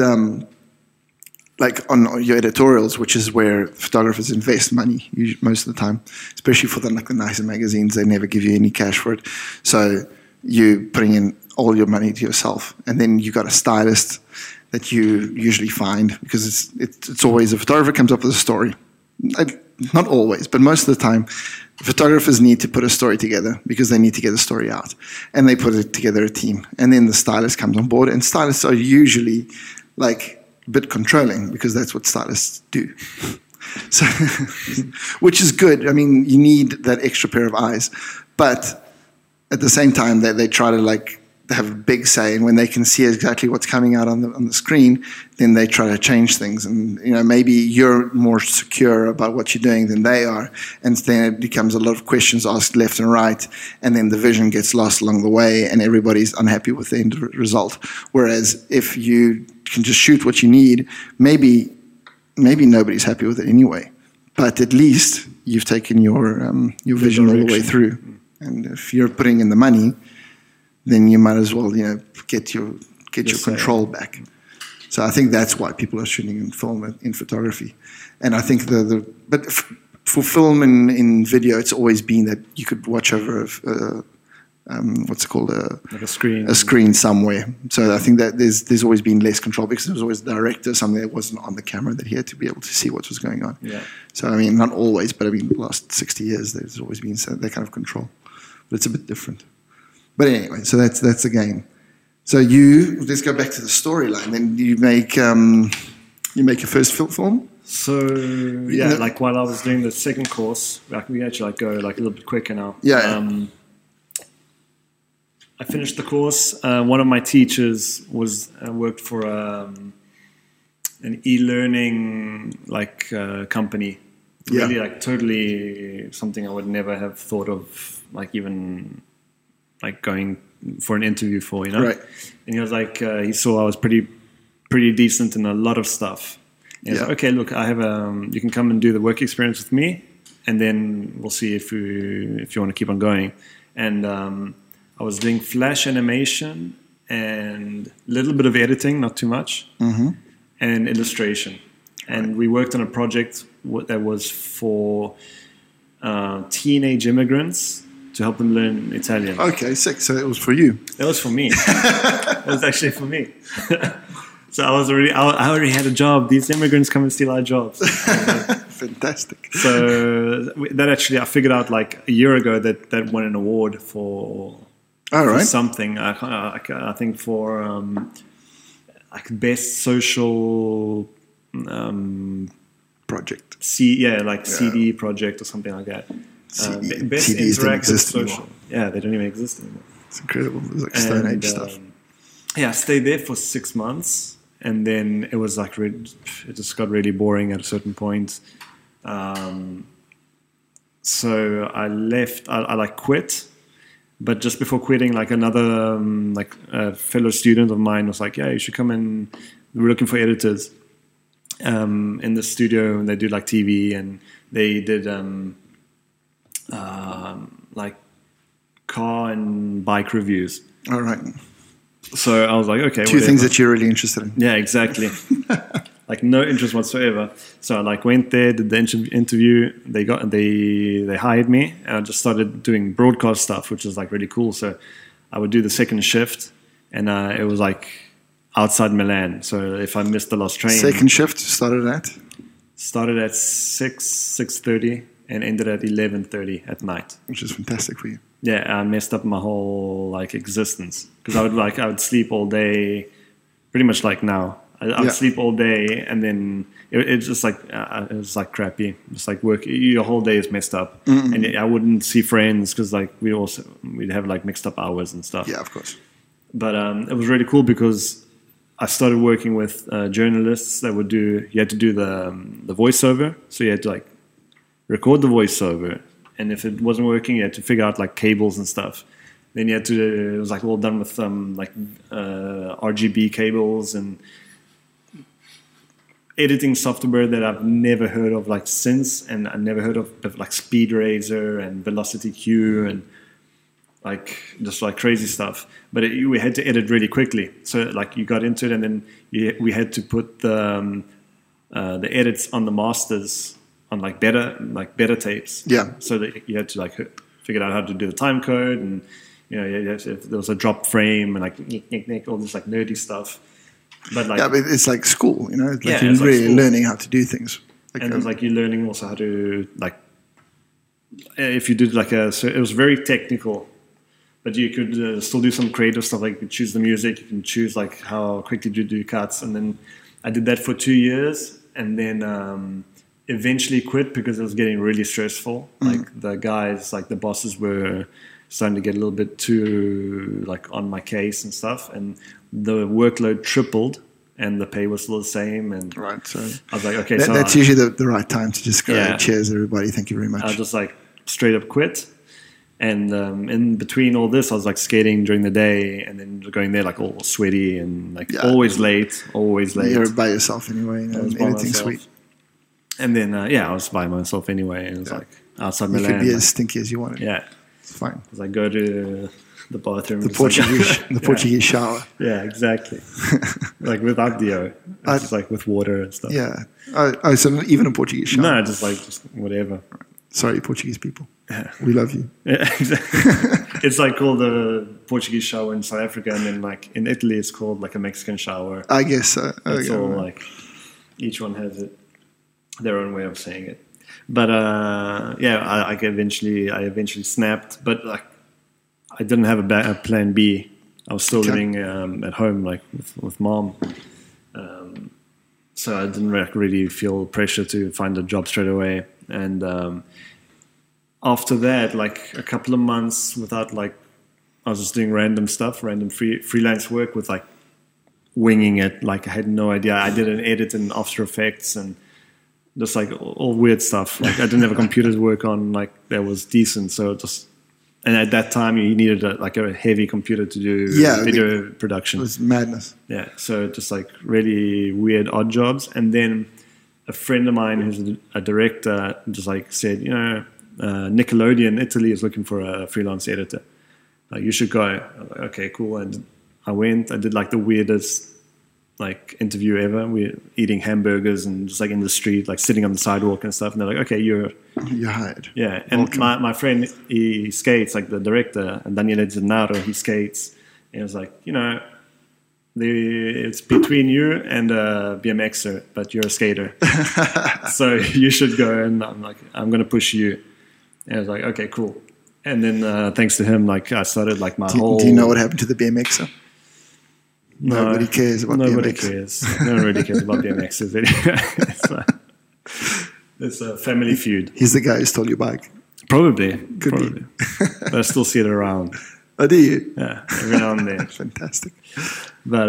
like on your editorials, which is where photographers invest money most of the time, especially for the nicer magazines, they never give you any cash for it. So you putting in all your money to yourself, and then you got a stylist that you usually find because it's always a photographer comes up with a story. Not always, but most of the time, photographers need to put a story together because they need to get the story out, and they put it together a team, and then the stylist comes on board, and stylists are usually like a bit controlling because that's what stylists do. So, which is good. I mean, you need that extra pair of eyes, but at the same time, they try to like have a big say, and when they can see exactly what's coming out on the screen, then they try to change things. And maybe you're more secure about what you're doing than they are, and then it becomes a lot of questions asked left and right, and then the vision gets lost along the way, and everybody's unhappy with the end result. Whereas if you can just shoot what you need, maybe nobody's happy with it anyway, but at least you've taken your vision all the way through. And if you're putting in the money, then you might as well get your control back. So I think that's why people are shooting in film and in photography. And I think but for film and in video, it's always been that you could watch over what's it called, like a screen somewhere. So I think that there's always been less control because there was always a director, something that wasn't on the camera, that he had to be able to see what was going on. Yeah. So I mean, not always, but I mean, the last 60 years there's always been that kind of control. But it's a bit different. But anyway, so that's the game. So let's go back to the storyline. Then you make your first film. So yeah, like while I was doing the second course, like we actually go like a little bit quicker now. Yeah. I finished the course. One of my teachers worked for an e-learning company. Really, like totally something I would never have thought of, like even like going for an interview for, Right. And he was like, he saw I was pretty decent in a lot of stuff. And he was like, okay, look, I have you can come and do the work experience with me, and then we'll see if you want to keep on going. And I was doing flash animation and a little bit of editing, not too much, and illustration. And we worked on a project that was for teenage immigrants to help them learn Italian. Okay, sick. So it was for you. That was for me. It was actually for me. So I already had a job. These immigrants come and steal our jobs. Fantastic. So that actually, I figured out like a year ago that won an award for something. I think for like best social project. CD project or something like that. Best CDs don't interactive exist social. anymore. Yeah, they don't even exist anymore. It's incredible. It was like Stone Age stuff. Yeah, I stayed there for 6 months, and then it was like it just got really boring at a certain point. So I left. I quit, but just before quitting, like another fellow student of mine was like, "Yeah, you should come in. We're looking for editors in the studio, and they do like TV, and they did like car and bike reviews. All right. So I was like, okay, two things that you're really interested in. Yeah, exactly. Like no interest whatsoever. So I like went there, did the interview. They hired me, and I just started doing broadcast stuff, which is like really cool. So I would do the second shift, and it was like outside Milan. So if I missed the last train, second shift started at 6:30 and ended at 11:30 at night, which is fantastic for you. Yeah, I messed up my whole like existence because I would sleep all day, pretty much like now. I would sleep all day, and then it's just like it was like crappy. It's like work. Your whole day is messed up, and I wouldn't see friends because like we'd have like mixed up hours and stuff. Yeah, of course. But it was really cool because I started working with journalists that would do. You had to do the voiceover, so you had to like record the voiceover, and if it wasn't working, you had to figure out like cables and stuff. Then you had to. It was like all done with RGB cables and editing software that I've never heard of like since, and I never heard of like Speed Razor and Velocity Q and like just like crazy stuff. But we had to edit really quickly, so like you got into it, and then we had to put the edits on the masters on like better tapes. Yeah. So that you had to like figure out how to do the time code, and if there was a drop frame and like all this like nerdy stuff. But like, but it's like school, It's like you're really learning how to do things. Like, and it's like you're learning also how to like, if you did so it was very technical, but you could still do some creative stuff. Like you could choose the music, you can choose like how quickly you do cuts. And then I did that for 2 years, and then eventually quit because it was getting really stressful. Like the guys, like the bosses were starting to get a little bit too like on my case and stuff, and the workload tripled and the pay was still the same. And right, so I was like, okay, that's usually the right time to just go, cheers everybody, thank you very much. I just like straight up quit. And in between all this, I was like skating during the day and then going there like all sweaty and like always late. You're by yourself anyway, anything sweet. And then I was by myself anyway, and it was like outside Milan. You could be as stinky as you wanted. Yeah, it's fine. Because I go to the bathroom, the Portuguese shower. Yeah, exactly. Like without deo, just like with water and stuff. Yeah. Oh, so not even a Portuguese shower? No, just whatever. Sorry, Portuguese people. We love you. Yeah, exactly. It's like called the Portuguese shower in South Africa, and then like in Italy, it's called like a Mexican shower. I guess so. It's all like each one has their own way of saying it. But I eventually snapped, but like I didn't have a plan B. I was still living at home, like with mom. So I didn't really feel pressure to find a job straight away. And after that, like a couple of months without like, I was just doing random stuff, random freelance work with like winging it. Like I had no idea. I did an edit in After Effects and just like all weird stuff. Like I didn't have a computer to work on like that was decent. So and at that time you needed a heavy computer to do video production. It was madness. Yeah. So just like really weird odd jobs. And then a friend of mine who's a director just like said, Nickelodeon Italy is looking for a freelance editor. Like you should go. I was like, okay, cool. And I went. I did like the weirdest like interview ever. We're eating hamburgers and just like in the street, like sitting on the sidewalk and stuff. And they're like, okay, you're hired. Yeah. And my friend, he skates, like the director, and Daniele Gennaro, he skates. And he was like, it's between you and a BMXer, but you're a skater. So you should go. And I'm like, I'm going to push you. And I was like, okay, cool. And then thanks to him, like I started like whole... Do you know what happened to the BMXer? Nobody cares about nobody BMX. Cares. No one really cares about BMXs anyway. It's a family feud. He's the guy who stole your bike. Probably. Could be. But I still see it around. Oh, do you? Yeah, every now and then. Fantastic. But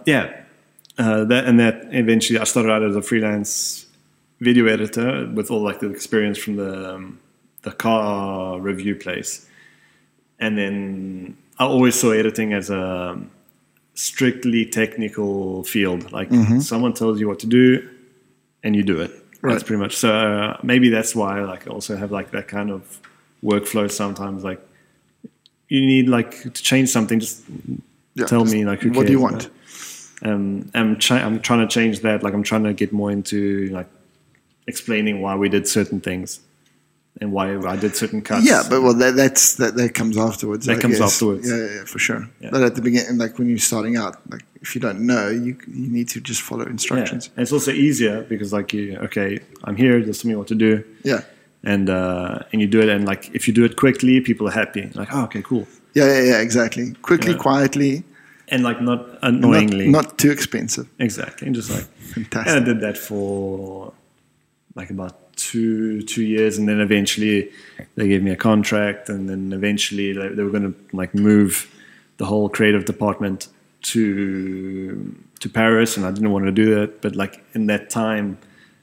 that eventually I started out as a freelance video editor with all like the experience from the car review place. And then I always saw editing as a strictly technical field. Like someone tells you what to do and you do it. Right. That's pretty much. So maybe that's why like I also have like that kind of workflow sometimes. Like you need like to change something, just tell me like who cares, what do you want? I'm trying to change that. Like I'm trying to get more into like explaining why we did certain things and why I did certain cuts. Yeah, but well, that comes afterwards. That comes afterwards. Yeah, for sure. Yeah. But at the beginning, like when you're starting out, like if you don't know, you need to just follow instructions. Yeah. And it's also easier because like I'm here. Just tell me what to do. Yeah. And you do it, and like if you do it quickly, people are happy. Like, oh, okay, cool. Yeah, exactly. Quickly, quietly, and like not annoyingly, not too expensive. Exactly, and just like fantastic. And I did that for like about 2 years, and then eventually they gave me a contract, and then eventually they were going to like move the whole creative department to Paris, and I didn't want to do that, but like in that time.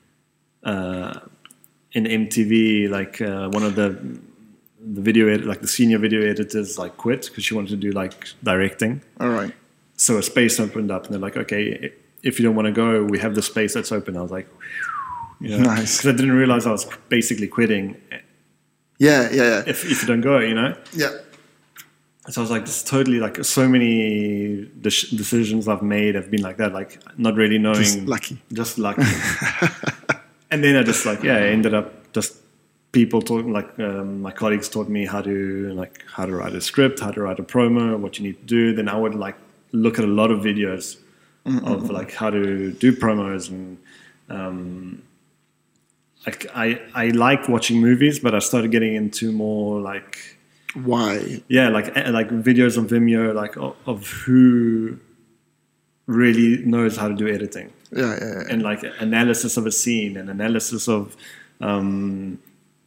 In MTV, like one of the the senior video editors, like quit because she wanted to do like directing. All right. So a space opened up, and they're like, "Okay, if you don't want to go, we have the space that's open." I was like, nice. Because I didn't realize I was basically quitting. Yeah. If you don't go, Yeah. So I was like, it's totally like so many decisions I've made have been like that, like not really knowing. Just lucky. And then I just I ended up just people taught like my colleagues taught me how to write a script, how to write a promo, what you need to do. Then I would like look at a lot of videos of like how to do promos, and like I like watching movies, but I started getting into more like why like videos on Vimeo like of who really knows how to do editing. Yeah. And like analysis of a scene and analysis of an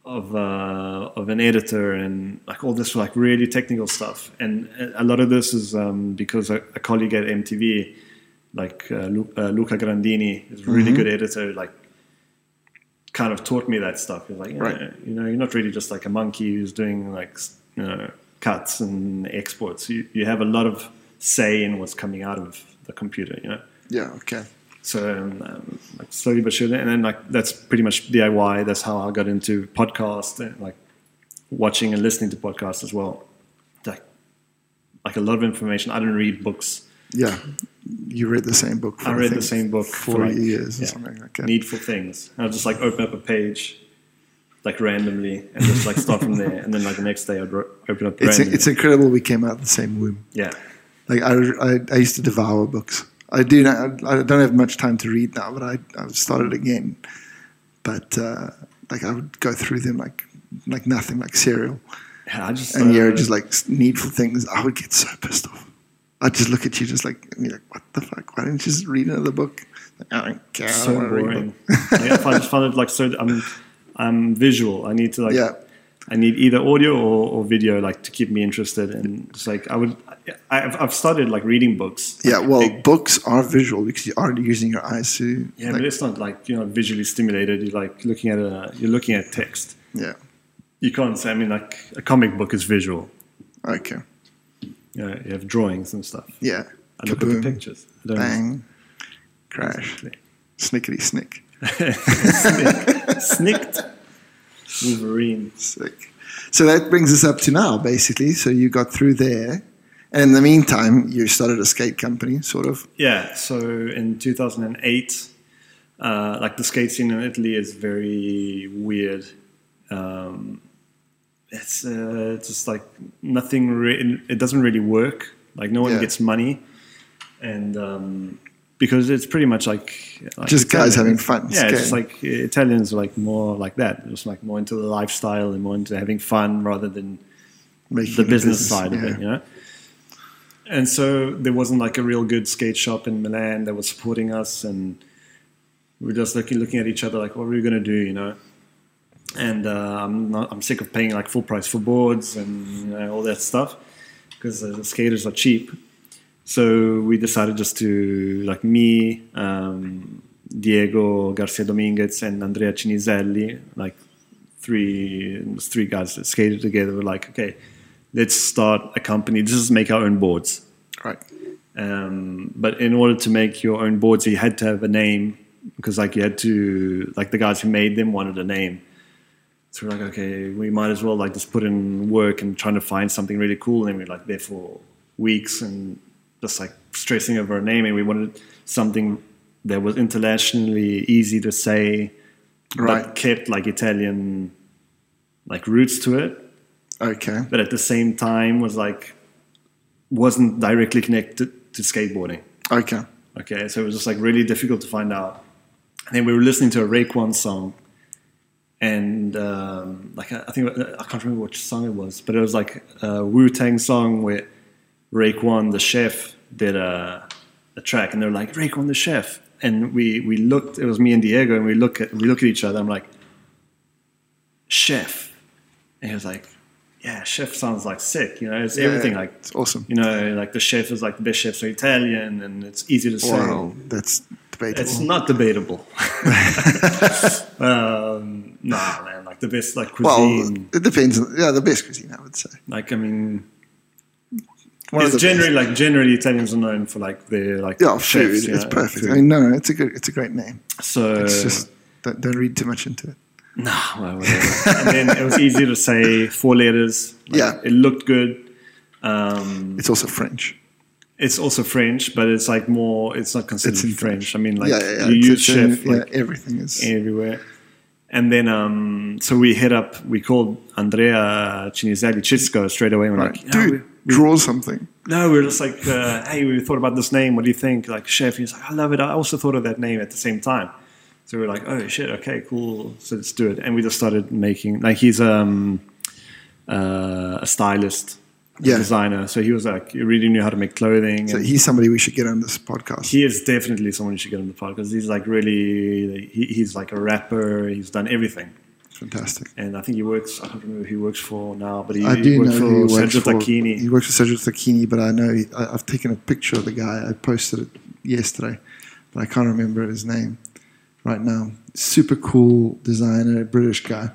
editor and like all this like really technical stuff. And a lot of this is because a colleague at MTV, like Luca Grandini, is a really good editor, like kind of taught me that stuff. He's like, right. You're not really just like a monkey who's doing like cuts and exports. You have a lot of say in what's coming out of the computer, Yeah, okay. So like slowly but surely, and then like that's pretty much DIY. That's how I got into podcasts and like watching and listening to podcasts as well. Like a lot of information. I didn't read books. Yeah, you read the same book. I read the same book for like, years or something like that. Needful Things. And I'll just like open up a page, like randomly, and just like start from there. And then like the next day I'd open up. It's incredible. We came out of the same womb. Yeah. Like I used to devour books. I don't have much time to read now, but I've started again. But like I would go through them like nothing, like cereal. Yeah, you're just like Needful Things. I would get so pissed off. I'd just look at you, just like, and you're like, what the fuck? Why didn't you just read another book? Like, I don't care. So boring. I just find it like so. I'm visual. I need to like. Yeah. I need either audio or video, like to keep me interested. And just like I've started like reading books. Yeah, well, books are visual because you are using your eyes to. Yeah, but it's not like you're not visually stimulated. You're like looking at text. Yeah. You can't say. I mean, like a comic book is visual. Okay. You have drawings and stuff. Yeah. I look at the pictures. Bang. Crash. Exactly. Snickety snick. Snicked. Wolverine. Sick. So that brings us up to now, basically. So you got through there. And in the meantime, you started a skate company, sort of. Yeah. So in 2008, like the skate scene in Italy is very weird. It's just like nothing. It doesn't really work. Like no one gets money, and because it's pretty much like just Italian, guys having fun. Yeah, it's just like Italians are like more like that. Just like more into the lifestyle and more into having fun rather than making the business side of it. And so there wasn't like a real good skate shop in Milan that was supporting us, and we were just looking at each other like, what are we going to do, And I'm sick of paying like full price for boards and all that stuff because the skaters are cheap. So we decided just to, like me, Diego Garcia Dominguez and Andrea Ciniselli, like three guys that skated together, were like, okay, let's start a company. Let's just make our own boards. Right. But in order to make your own boards, you had to have a name because like you had to, like the guys who made them wanted a name. So we're like, okay, we might as well like just put in work and trying to find something really cool. And then we're like there for weeks and just like stressing over a name. And we wanted something that was internationally easy to say, but kept like Italian like roots to it. Okay. But at the same time wasn't directly connected to skateboarding. Okay. Okay. So it was just like really difficult to find out. And then we were listening to a Raekwon song. And like I think I can't remember which song it was, but it was like a Wu-Tang song where Raekwon the chef did a track, and they're like Raekwon the chef, and we looked. It was me and Diego, and we look at each other. I'm like, chef, and he was like, yeah, chef sounds like sick. You know, it's everything like it's awesome. You know, like the chef is like the best chefs are Italian, and it's easy to say. Well, that's debatable. It's not debatable. No, man, like the best like cuisine. Well, it depends. Yeah, the best cuisine, I would say. Like, I mean, it's generally Italians are known for like their like chefs. Food. It's perfect. Food. I mean, no, it's a great name. So it's just don't read too much into it. No, well, whatever. And then it was easy to say 4 letters. Like, it looked good. It's also French. It's also French, but it's like more. It's not considered French. I mean, like you use chef. Like, everything is everywhere. And then, so we called Andrea Ciniselli Chisco straight away. We're like, dude, draw something. No, we're just like, hey, we thought about this name. What do you think? Like, chef. He's like, I love it. I also thought of that name at the same time. So we're like, oh shit, okay, cool. So let's do it. And we just started making, like, he's a stylist. Designer, so he was like, he really knew how to make clothing. So he's somebody we should get on this podcast. He is definitely someone you should get on the podcast. He's like really, he's like a rapper. He's done everything. Fantastic. And I think he works. I don't remember who he works for now, but he works for Sergio Tacchini. He works for Sergio Tacchini, but I know I've taken a picture of the guy. I posted it yesterday, but I can't remember his name right now. Super cool designer, British guy.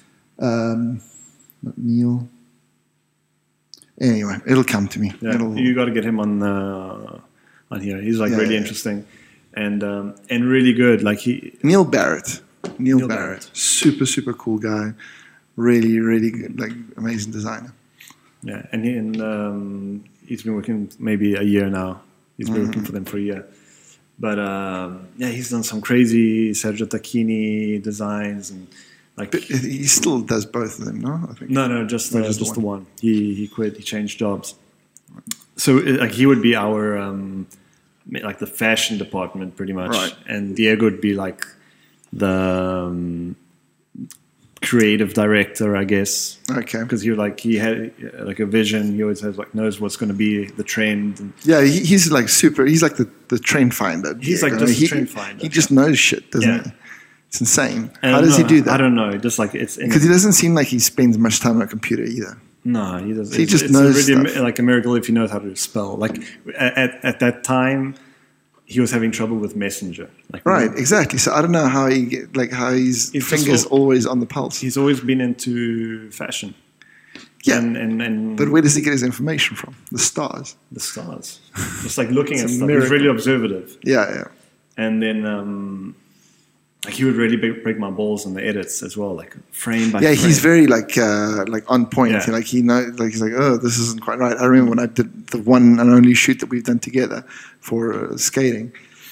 Not Neil. Anyway, it'll come to me. Yeah, you got to get him on here. He's like really interesting and really good. Like Neil Barrett, super cool guy, really good, like amazing designer. Yeah, and he's been working maybe a year now. He's been working for them for a year, but he's done some crazy Sergio Tacchini designs and. Like, but he still does both of them, no? I think. No, just the one. He quit. He changed jobs. So like he would be our like the fashion department pretty much, right. And Diego would be like the creative director, I guess. Okay. Because he had like a vision. He always has like knows what's going to be the trend. And he's like super. He's like the trend finder. He's like just a trend finder. He just knows shit, doesn't he? It's insane. How does he do that? I don't know. Just like it's because he doesn't seem like he spends much time on a computer either. No, he doesn't. So he just knows really stuff. Like a miracle if he knows how to spell. Like at that time, he was having trouble with Messenger. Like, right, exactly. So I don't know how his fingers always on the pulse. He's always been into fashion. Yeah, and but where does he get his information from? The stars. The stars. Just like looking at stuff. He's really observative. Yeah. And then. Like he would really break my balls in the edits as well, like frame by frame. Yeah, he's very like on point. Yeah. Like he knows, like he's like, oh, this isn't quite right. I remember when I did the one and only shoot that we've done together for skating.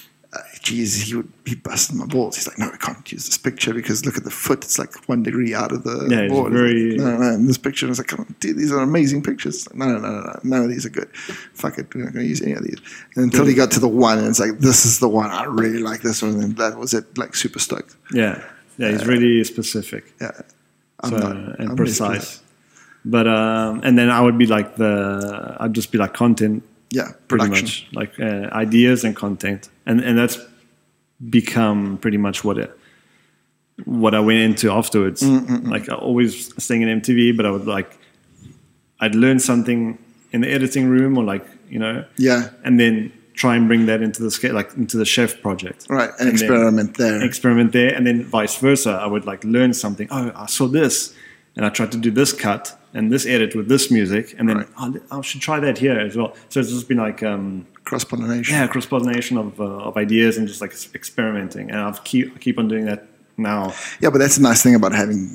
He busted my balls. He's like, no, we can't use this picture because look at the foot. It's like 1 degree out of the board. No, in this picture. I was like, come on, dude, these are amazing pictures. Like, no, none of these are good. Fuck it, we're not going to use any of these. And until he got to the one, and it's like, this is the one. I really like this one. And that was it, like super stoked. Yeah, he's really specific. Yeah, I'm precise. But and then I would be like I'd just be like content. Yeah, pretty much like ideas and content, and that's become pretty much what I went into afterwards. Like I always staying in MTV, but I'd learn something in the editing room or and then try and bring that into the chef project, right? And experiment there, and then vice versa. I would learn something. Oh, I saw this, and I tried to do this cut and this edit with this music, and then I should try that here as well. So it's just been like cross-pollination. Yeah, cross-pollination of ideas and just like experimenting. And I keep on doing that now. Yeah, but that's a nice thing about having like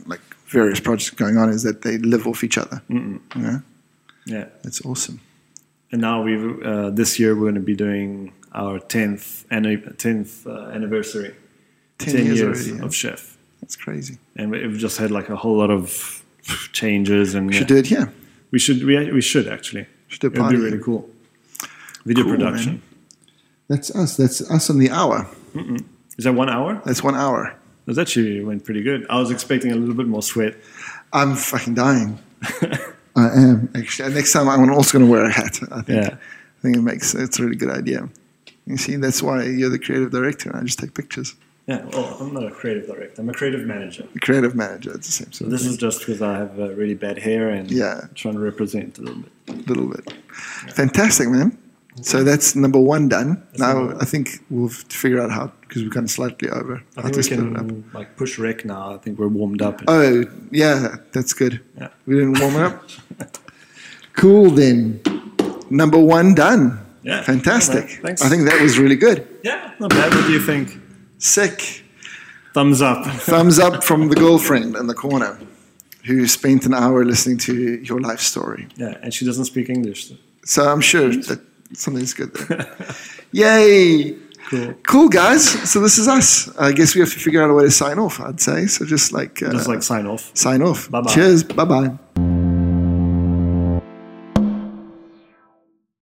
various projects going on is that they live off each other. Yeah, that's awesome. And now this year we're going to be doing our 10th anniversary. 10 years already, of Chef. That's crazy. And we've just had like a whole lot of changes, and we should do it here. We should actually. Should do a party. It'd be really cool. Video production. Man. That's us. That's us on the hour. Is that 1 hour? That's 1 hour. That actually went pretty good. I was expecting a little bit more sweat. I'm fucking dying. I am actually. Next time I'm also going to wear a hat. I think it's a really good idea. You see, that's why you're the creative director, and I just take pictures. Yeah, well, I'm not a creative director. I'm a creative manager. A creative manager, it's the same sort of This is just because I have really bad hair and trying to represent a little bit. Yeah. Fantastic, man. So that's number 1 done. Now I think we'll figure out how, because we're kind of slightly over. I think we can push rec now. I think we're warmed up. Oh, yeah, that's good. Yeah. We didn't warm up? Cool then. Number 1 done. Yeah. Fantastic. Yeah, thanks. I think that was really good. Yeah, not bad. What do you think? Sick. Thumbs up. Thumbs up from the girlfriend in the corner who spent an hour listening to your life story. Yeah, and she doesn't speak English. So I'm sure that something's good there. Yay. Cool, guys. So this is us. I guess we have to figure out a way to sign off, I'd say. So just like sign off. Sign off. Bye-bye. Cheers. Bye-bye.